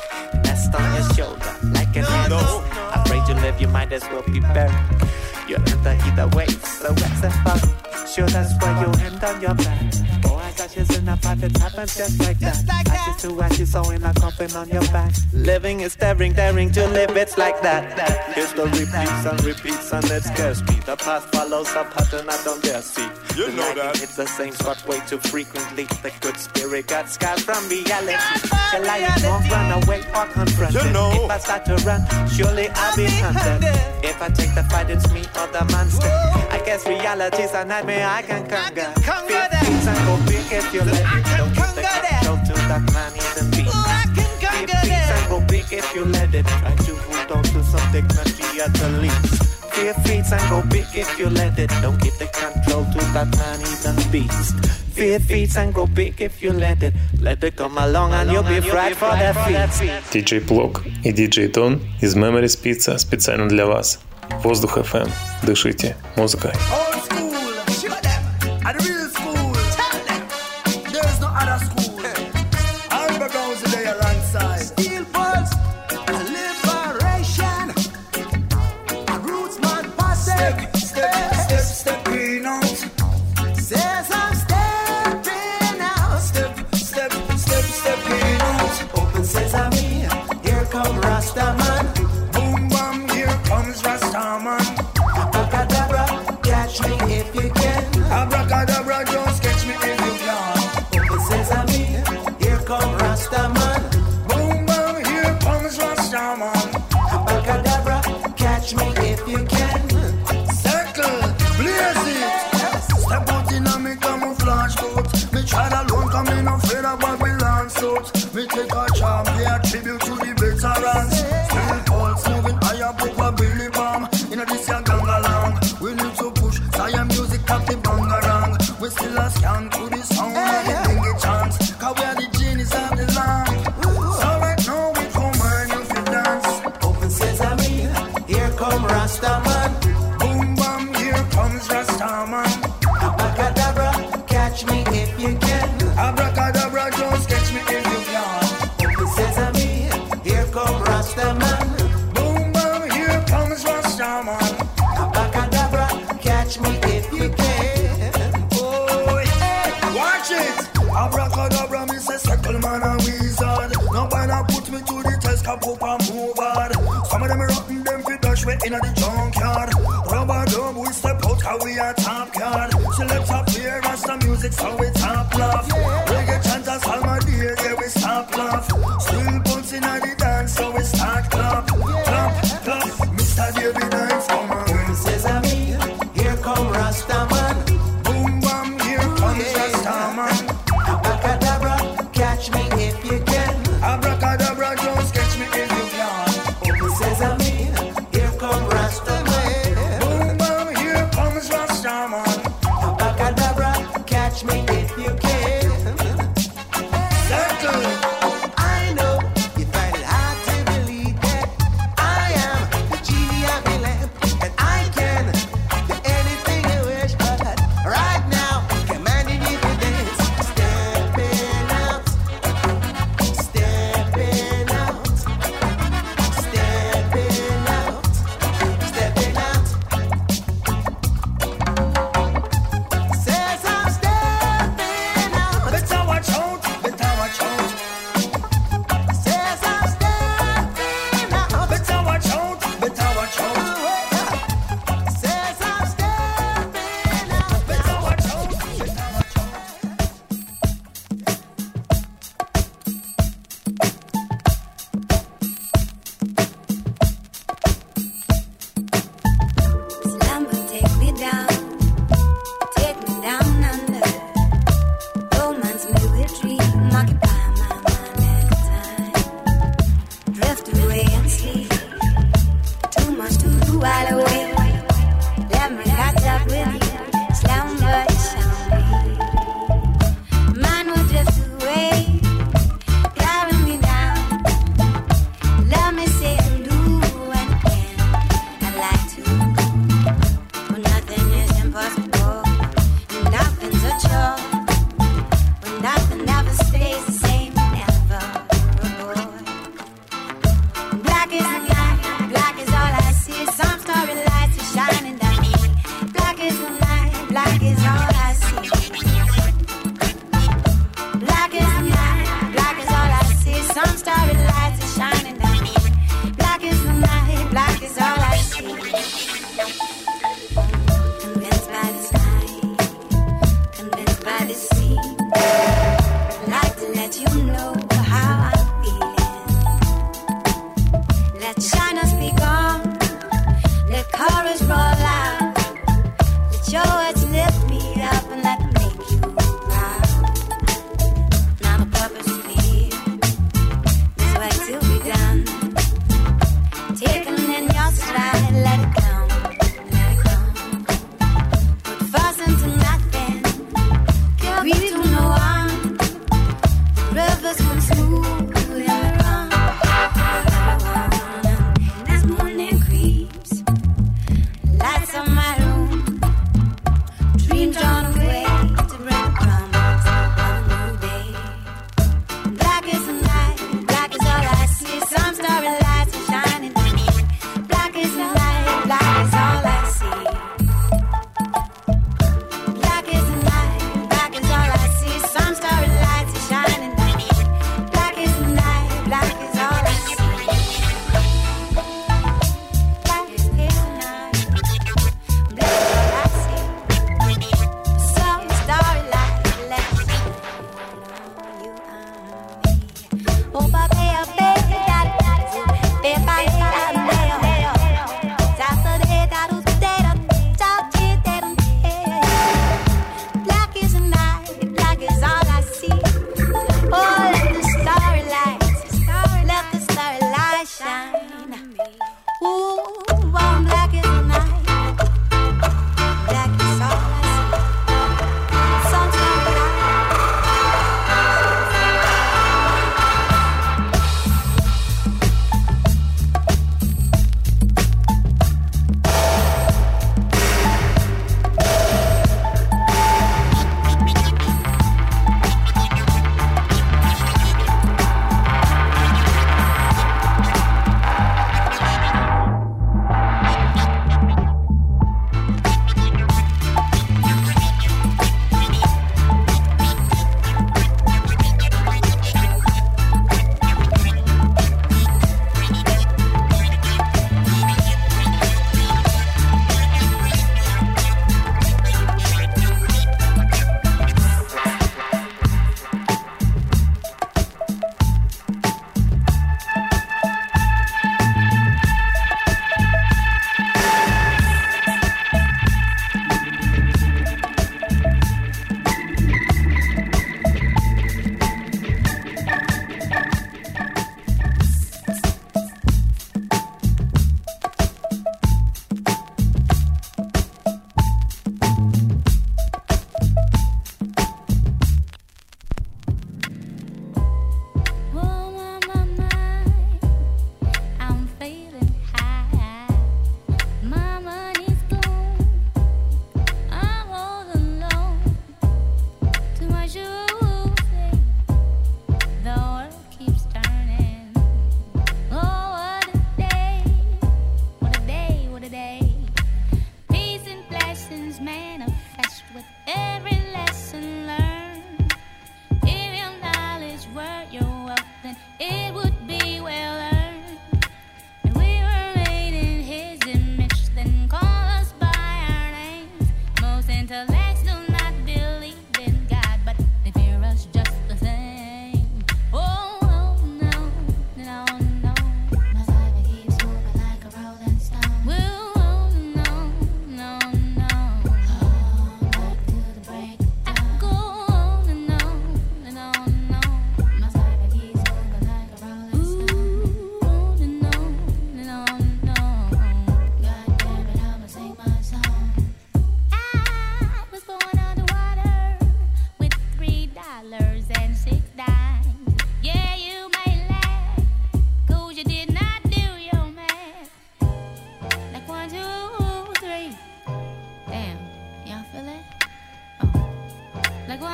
Speaker 13: Nest on your shoulder like an ant. Afraid to live, you might as well be buried. You'll enter either way, so what's the fun? Sure, that's why you end on your back. Oh, I got ashes in a pot, it happens just like that. Ashes to ashes, so in a coffin on your back. Living is daring to live, it's like that. History repeats and it scares me. The past follows a pattern I don't dare see. You know that. It's the same spot way too frequently. The good spirit got scars from reality. Shall I won't run away or confront it? If I start to run, surely I'll be hunted. If I take the fight, it's me or the monster. I guess reality's a nightmare I can conquer. Things and go big if you let it. Don't give the control to that man in the beat. Things and go big if you let it. Try to hold on to some dignity at the least. Fear feet and go big if you let it. Don't give the control to that man in the beast. Fear feet and go big if you let it. Let it come along and you'll be right for that feet.
Speaker 3: DJ Plok и DJ Don из Memories Pizza специально для вас. Воздух FM. Дышите музыкой.
Speaker 10: We take our charm, we attribute to the veterans. Still pulse moving higher, book a Billy Bomb. In a this young gang along, we need to push Zion music up the bangarang. We still a scan to the sound and the dingy chants. Cause we are the genies of the land. So right now we come and you feel dance.
Speaker 13: Open sesame, here come Rastaman.
Speaker 10: Boom bam, here comes Rastaman.
Speaker 13: Abracadabra, catch me if you can.
Speaker 10: Abracadabra, just catch me if you can.
Speaker 13: Sesame, here come Rastaman.
Speaker 10: Boom bam, here comes Rastaman.
Speaker 13: Abacadabra, catch me if you can.
Speaker 10: Oh, hey, watch it. Abracadabra, me say circle man and wizard. Nobody put me to the test, cap up and move hard. Some of them rotten, them fit dash way in the junkyard. Rubber dub, we step out, how we are top card. Select up here, Rasta music, so we top laugh. Reggae chanters, Alma dear, yeah, we stop laugh. Still bouncing at the dance, so we start clap. Clap, clap, Mr. David Dance, come on.
Speaker 13: Boom sesame, here come Rastaman.
Speaker 10: Boom bam, here comes Rastaman.
Speaker 13: Abacadabra, catch me if you can.
Speaker 10: Abracadabra, just catch me if you can.
Speaker 13: Open sesame, here come Rastaman.
Speaker 10: Boom bam, here comes Rastaman.
Speaker 13: Abacadabra, catch me if you can.
Speaker 10: Circle.
Speaker 13: I know you find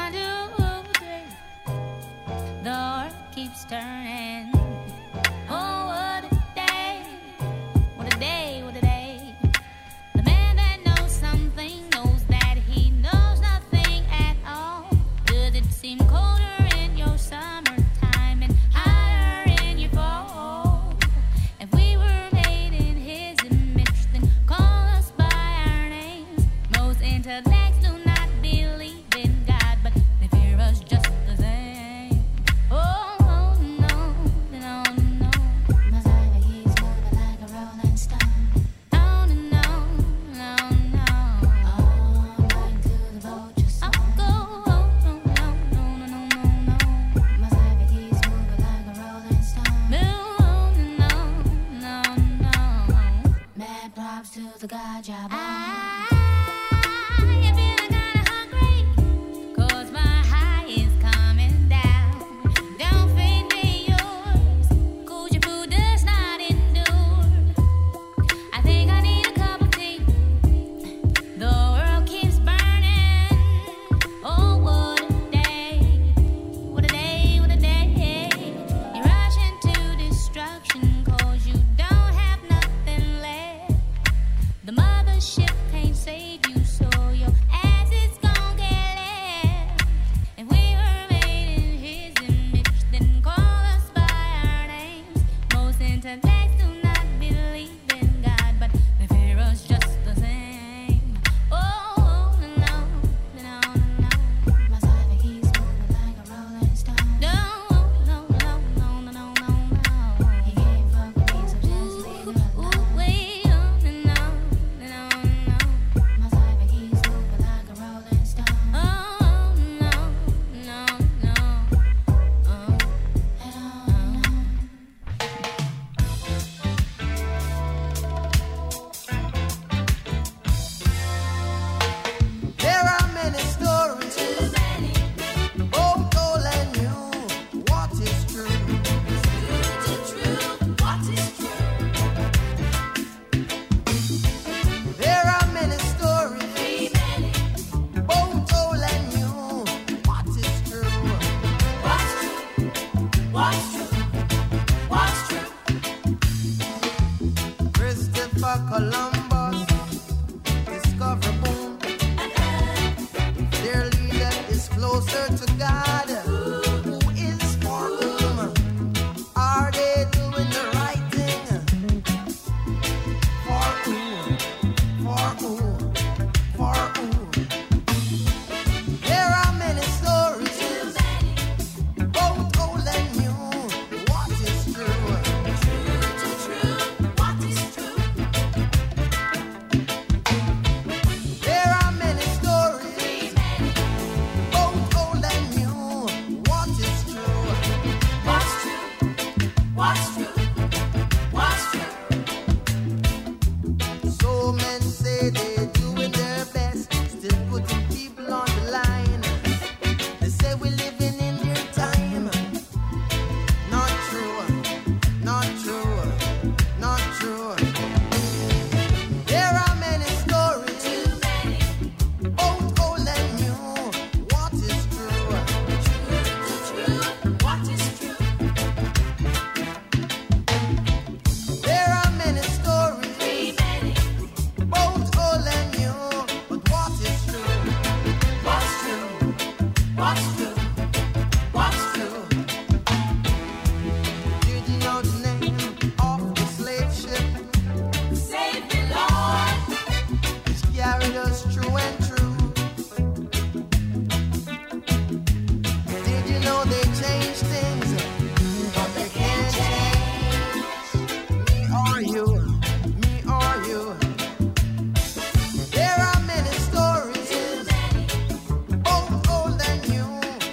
Speaker 10: There are many stories, both old and new.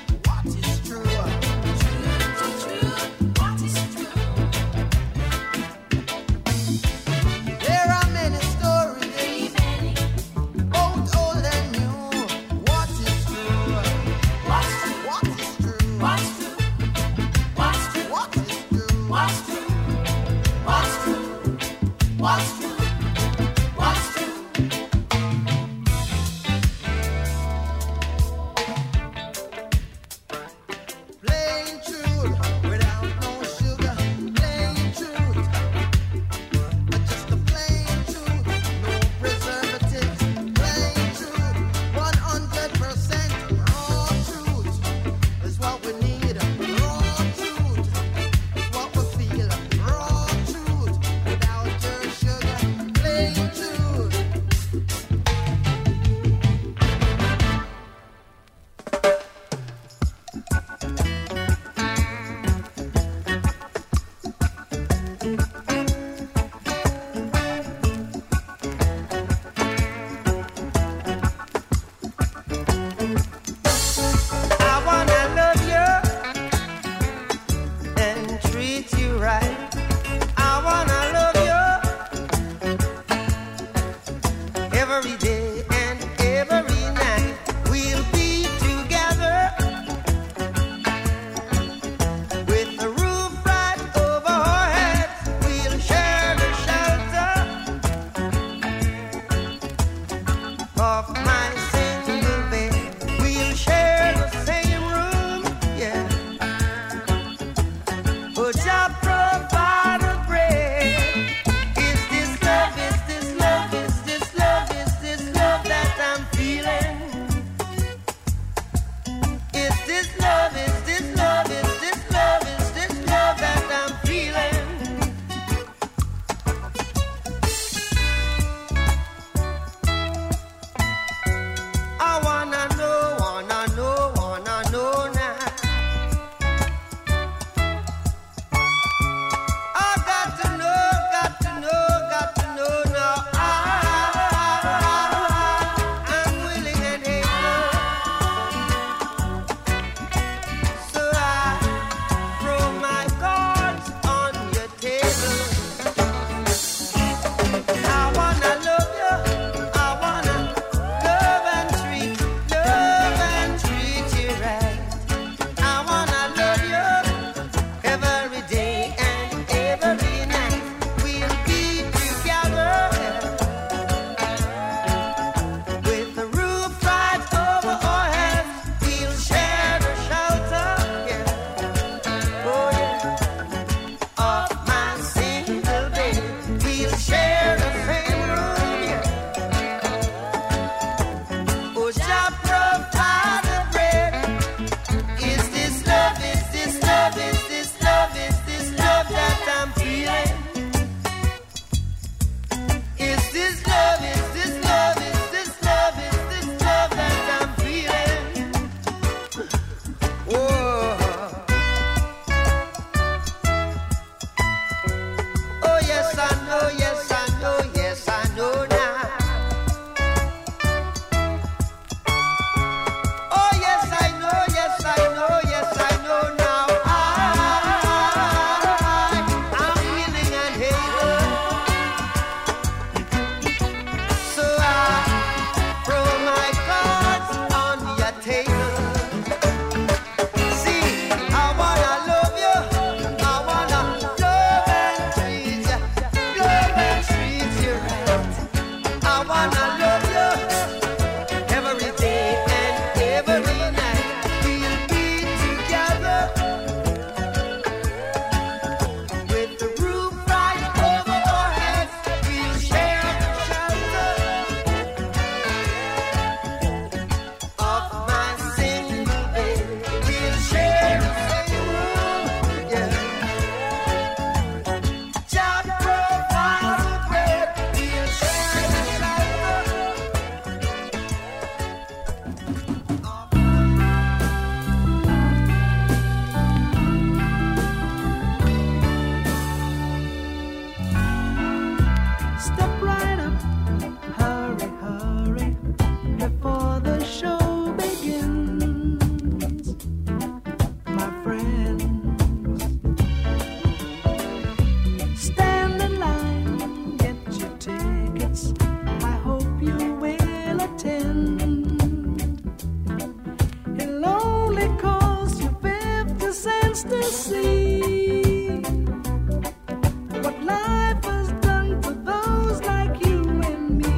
Speaker 14: to see what life has done to those like you and me.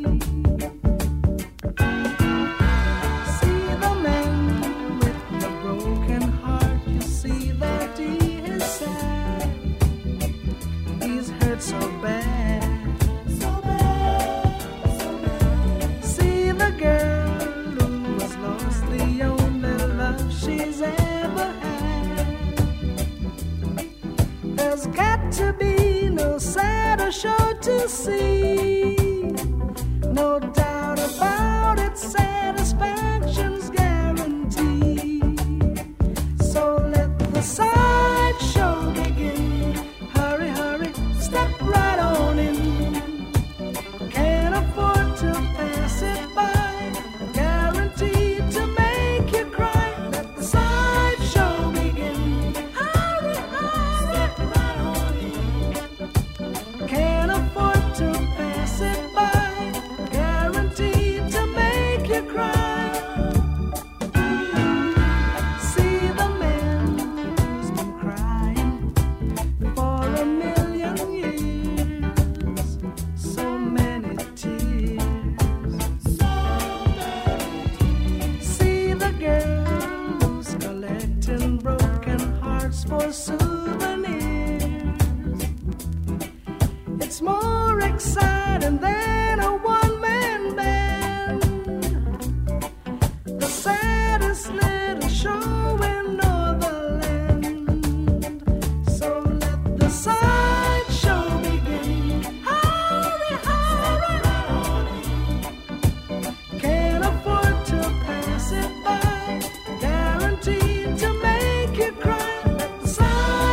Speaker 14: See the man with the broken heart, you see that he is sad. He's hurt so bad, so bad, so bad. See the girl who has lost the only love she's ever had. There's got to be no sadder show to see. No doubt about it, satisfaction's guaranteed. So let the sideshow begin. Hurry, hurry, step right on in. Can't afford to pass it by. Guaranteed to make you cry. Let the sideshow begin. Hurry, hurry, step right on in. Can't afford to pass it by. Guaranteed to make you cry. See the man who's been crying for a million years. So many tears. See the girl who's collecting broken hearts for souvenirs. It's more exciting than a one-man band. The saddest little show in Northern. So let the sideshow begin. Hurry, hurry. Can't afford to pass it by. Guaranteed to make you cry. Let the sideshow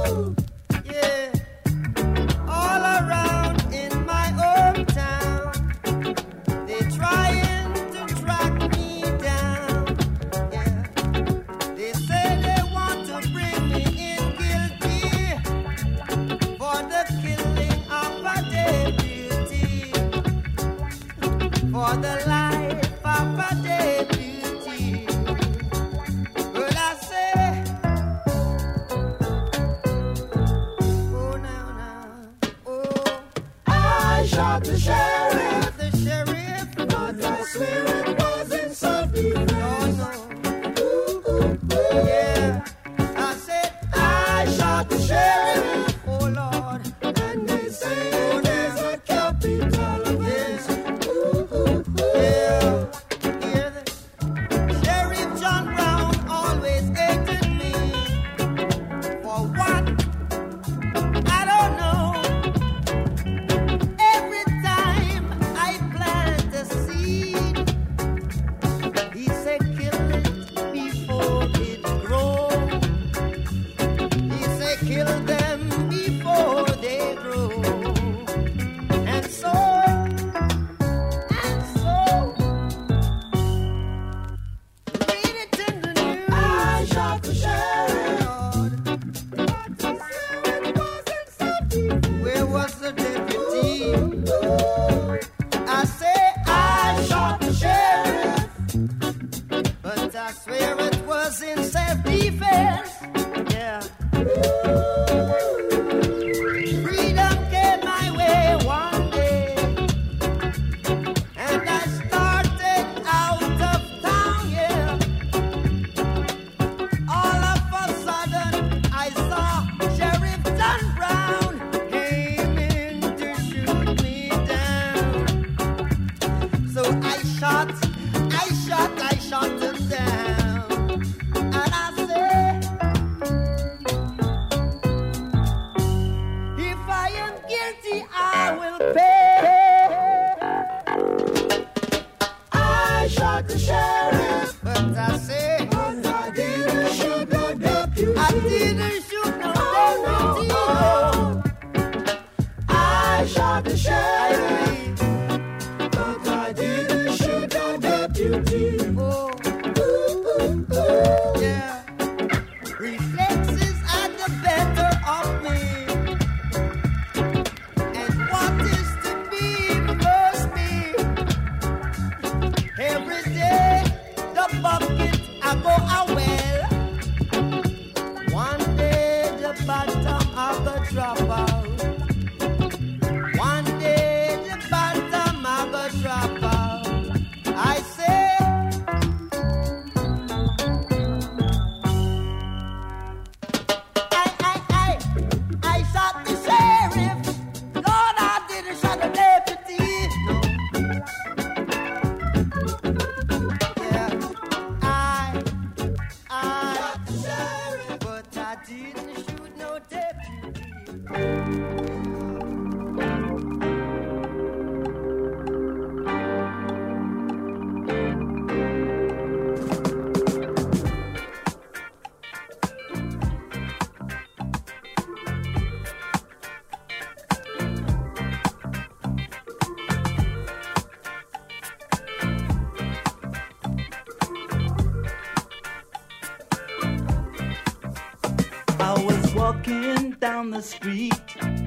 Speaker 15: The street,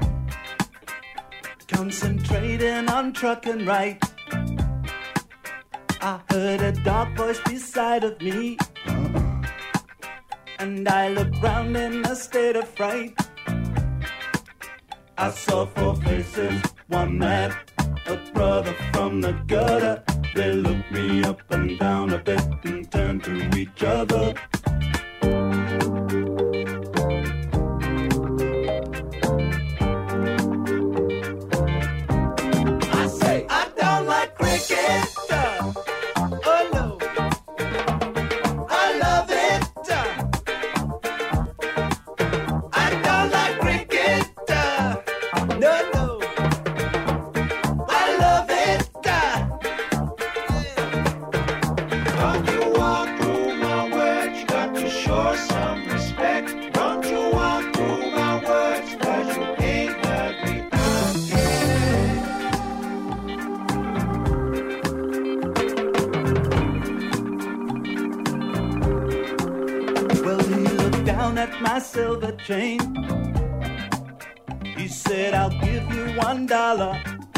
Speaker 15: concentrating on trucking right. I heard a dark voice beside of me, and I looked round in a state of fright. I saw four faces, one man, a brother from the gutter. They looked me up and down a bit and turned to each other.
Speaker 16: Don't you walk through my wedge?
Speaker 15: silver chain. He said, I'll give you $1.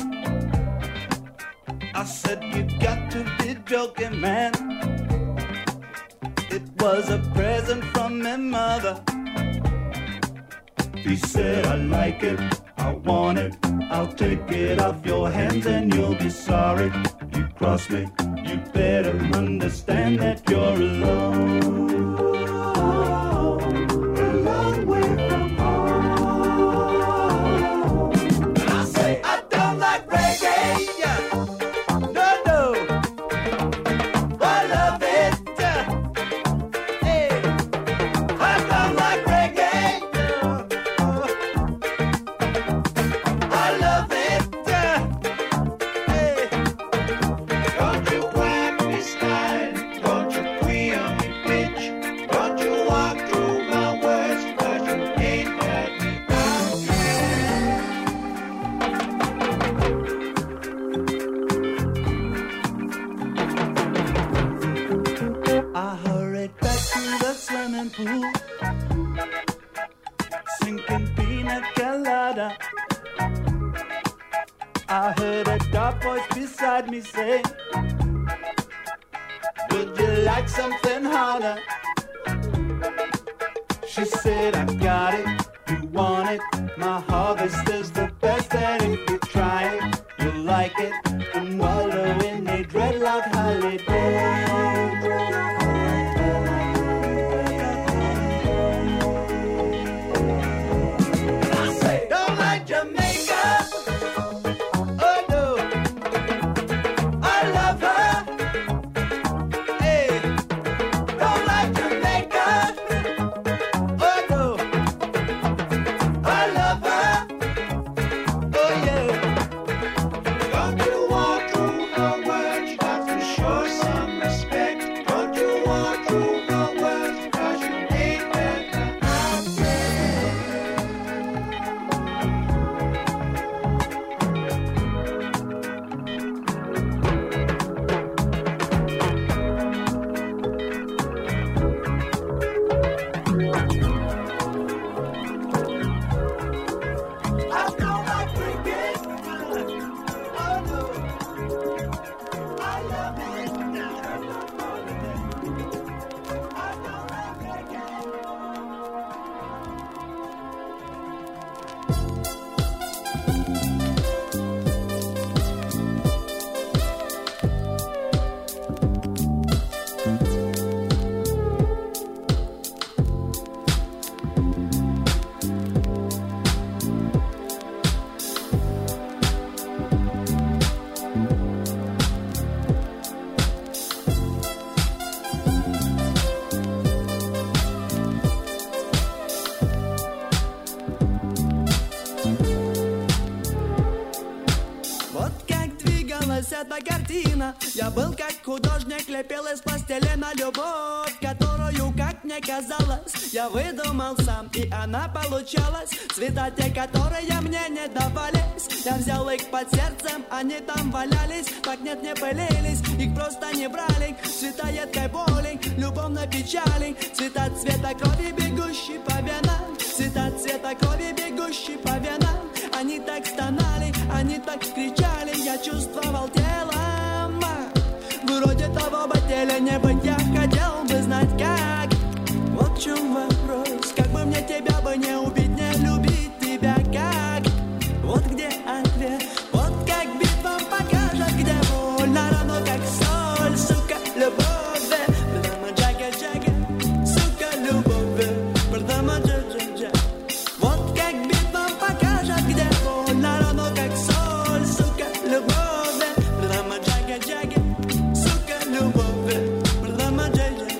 Speaker 15: I said, you got to be joking, man. It was a present from my mother. He said, I like it, I want it, I'll take it off your hands and you'll be sorry. You cross me, you better understand that you're alone. A long way from home. And I say, I don't like reggae, yeah. No, no, I love it, hey. I don't like reggae, I love it, hey. Don't you whack me style, don't you queer me bitch, don't you walk through my words, 'cause you ain't heard me out. I hurried back to the swimming pool, sinking pina colada. I heard a dark voice beside me say, would you like something harder? She said, I got it, you want it, my harvest is the best, and if you try it, you'll like it, and wallow in a dreadlock holiday. I say, don't like Jamaica. Oh no, I love her. Hey, don't like Jamaica. Oh no, I love her. Oh yeah. Don't you walk through her words, you got to show some respect. Don't you walk through her words, 'cause you ain't heard her out yet. I don't like reggae. Oh no, I love it. I don't like reggae. Вот как двигалась эта картина, я был как художник, лепил из пластилина любовь, которую, как мне казалось, я выдумал сам, и она получалась. Цвета те, которые мне не давались, я взял их под сердцем, они там валялись, так нет, не пылились, их просто не брали. Цвета едкой боли, любовной печали, цвета цвета крови, бегущей по венам, цвета цвета крови, бегущей по венам. Они так стонали, они так кричали, я чувствовал телом. Вроде того бы теле не быть, я хотел бы знать как. Вот в чем вопрос, как бы мне тебя бы не убить, не любить тебя как. Вот где ответ, вот как битва покажет, где больно, равно как соль, сука, любовь. Прямо джага-джага, сука, любовь. Прямо джага-джага. Вот как битва покажет, где больно, равно как соль, сука, любовь. Прямо джага-джага, сука, любовь. Прямо джага.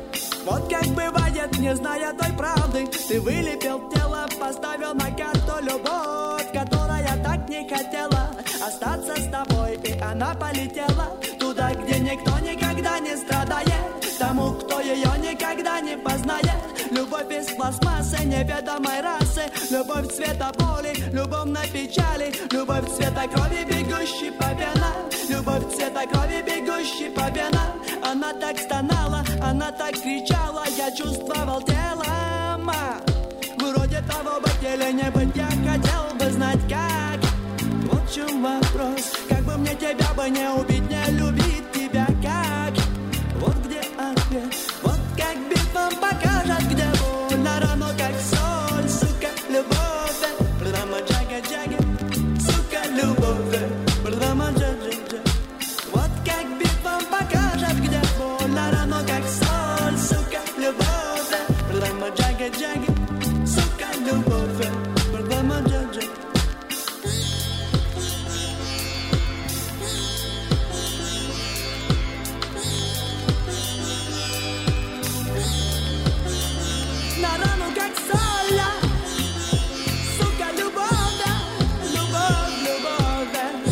Speaker 15: Вот как бывает, не зная той правды, ты вылепил тело, поставил на карту любовь, которая так не хотела остаться с тобой, и она полетела туда, где никто никогда не страдает, тому, кто ее никогда не познает. Любовь из пластмассы неведомой расы, любовь цвета боли, любовной печали, любовь цвета крови, бегущей по венам, любовь цвета крови, бегущей по венам. Она так стонала, она так кричала, я чувствовал телом. ума. Вроде того быть или не быть, я хотел бы знать как. Вот в чем вопрос, как бы мне тебя бы не убить, не любить тебя как. Вот где ответ, вот как битва покажет, где больно, равно как соль, сука, любовь. Прямо джага-джага, сука, любовь. Прямо джага-джага. Вот как битва покажет, где больно, равно как соль, сука, любовь. Прямо джага-джага, сука, любовь. Прямо джага-джага. На рану как соль, сука, любовь, любовь, любовь,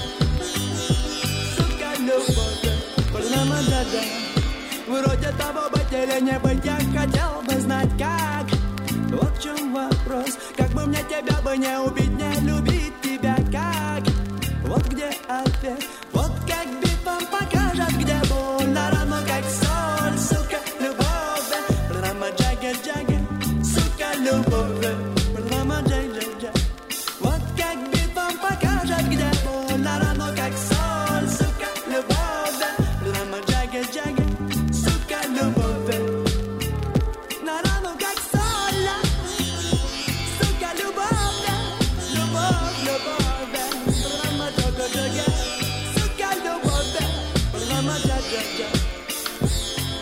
Speaker 15: сука, любовь, прямо да-да. Вроде того быть или не быть, я хотел бы знать как. Вот в чем вопрос, как бы мне тебя бы не убить, не любить тебя как. Вот где ответ, вот как битва покажет, где больно, равно как соль, сука, любовь. Прямо джага-джага, сука, любовь. Прямо джага-джага. Вот как битва покажет, где больно, равно как соль, сука, любовь. Прямо джага-джага, сука, любовь. На рану как соль, сука, любовь. Любовь, любовь. Прямо джага-джага, сука, любовь. Прямо джага-джага.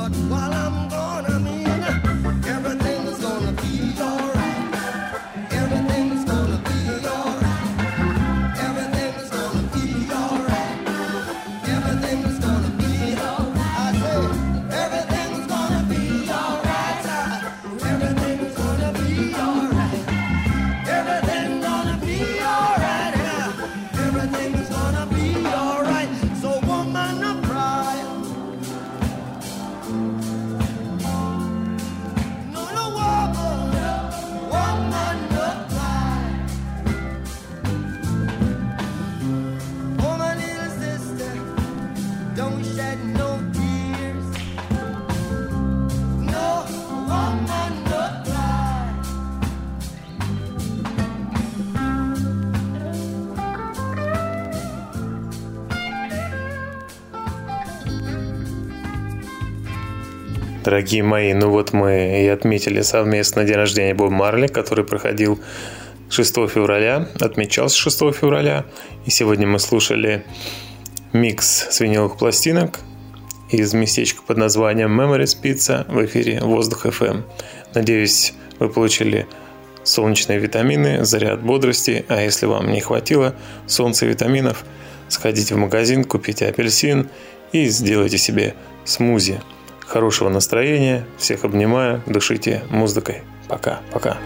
Speaker 10: But while I'm gone, I mean, everything is gonna be alright. Everything is gonna be alright. Everything is gonna be alright. Everything is gonna be alright. I say, everything is gonna be alright. Everything is gonna be alright. Everything gonna be alright. Everything is gonna be alright. So woman, no cry. No, no woman, woman, no cry. Oh, my little sister, don't shed no tears. No, woman, no cry.
Speaker 3: Дорогие мои, ну вот мы и отметили совместно день рождения Боба Марли, который проходил 6 февраля, отмечался 6 февраля. И сегодня мы слушали микс с виниловых пластинок из местечка под названием Memories Pizza в эфире Воздух FM. Надеюсь, вы получили солнечные витамины, заряд бодрости. А если вам не хватило солнца и витаминов, сходите в магазин, купите апельсин и сделайте себе смузи. Хорошего настроения, всех обнимаю, дышите музыкой. Пока-пока.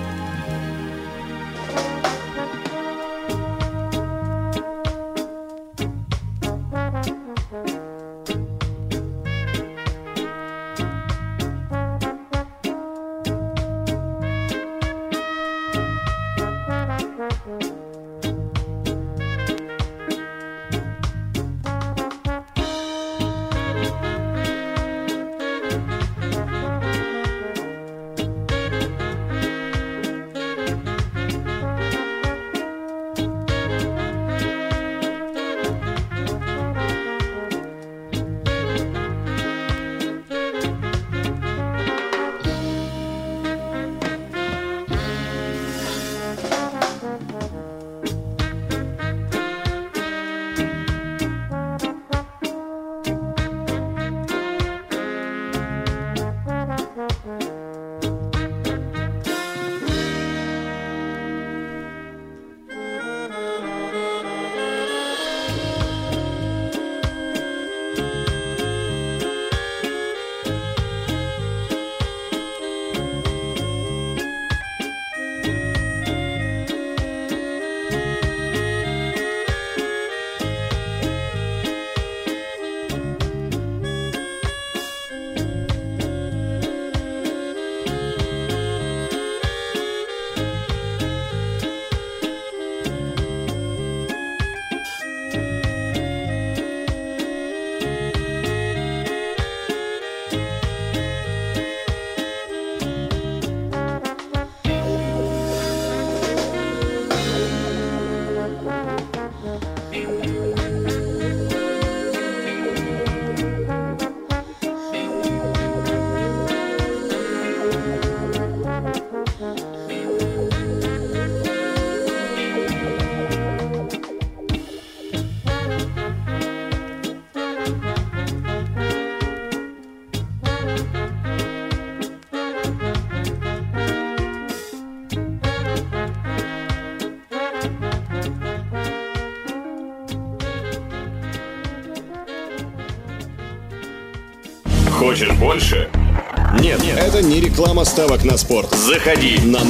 Speaker 2: Хочешь больше? Нет, это не реклама ставок на спорт. Заходи на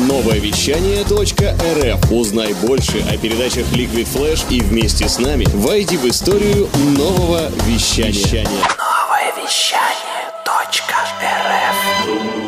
Speaker 2: новоевещание.рф. Узнай больше о передачах Liquid Flash и вместе с нами войди в историю нового вещания.
Speaker 16: Новоевещание.рф.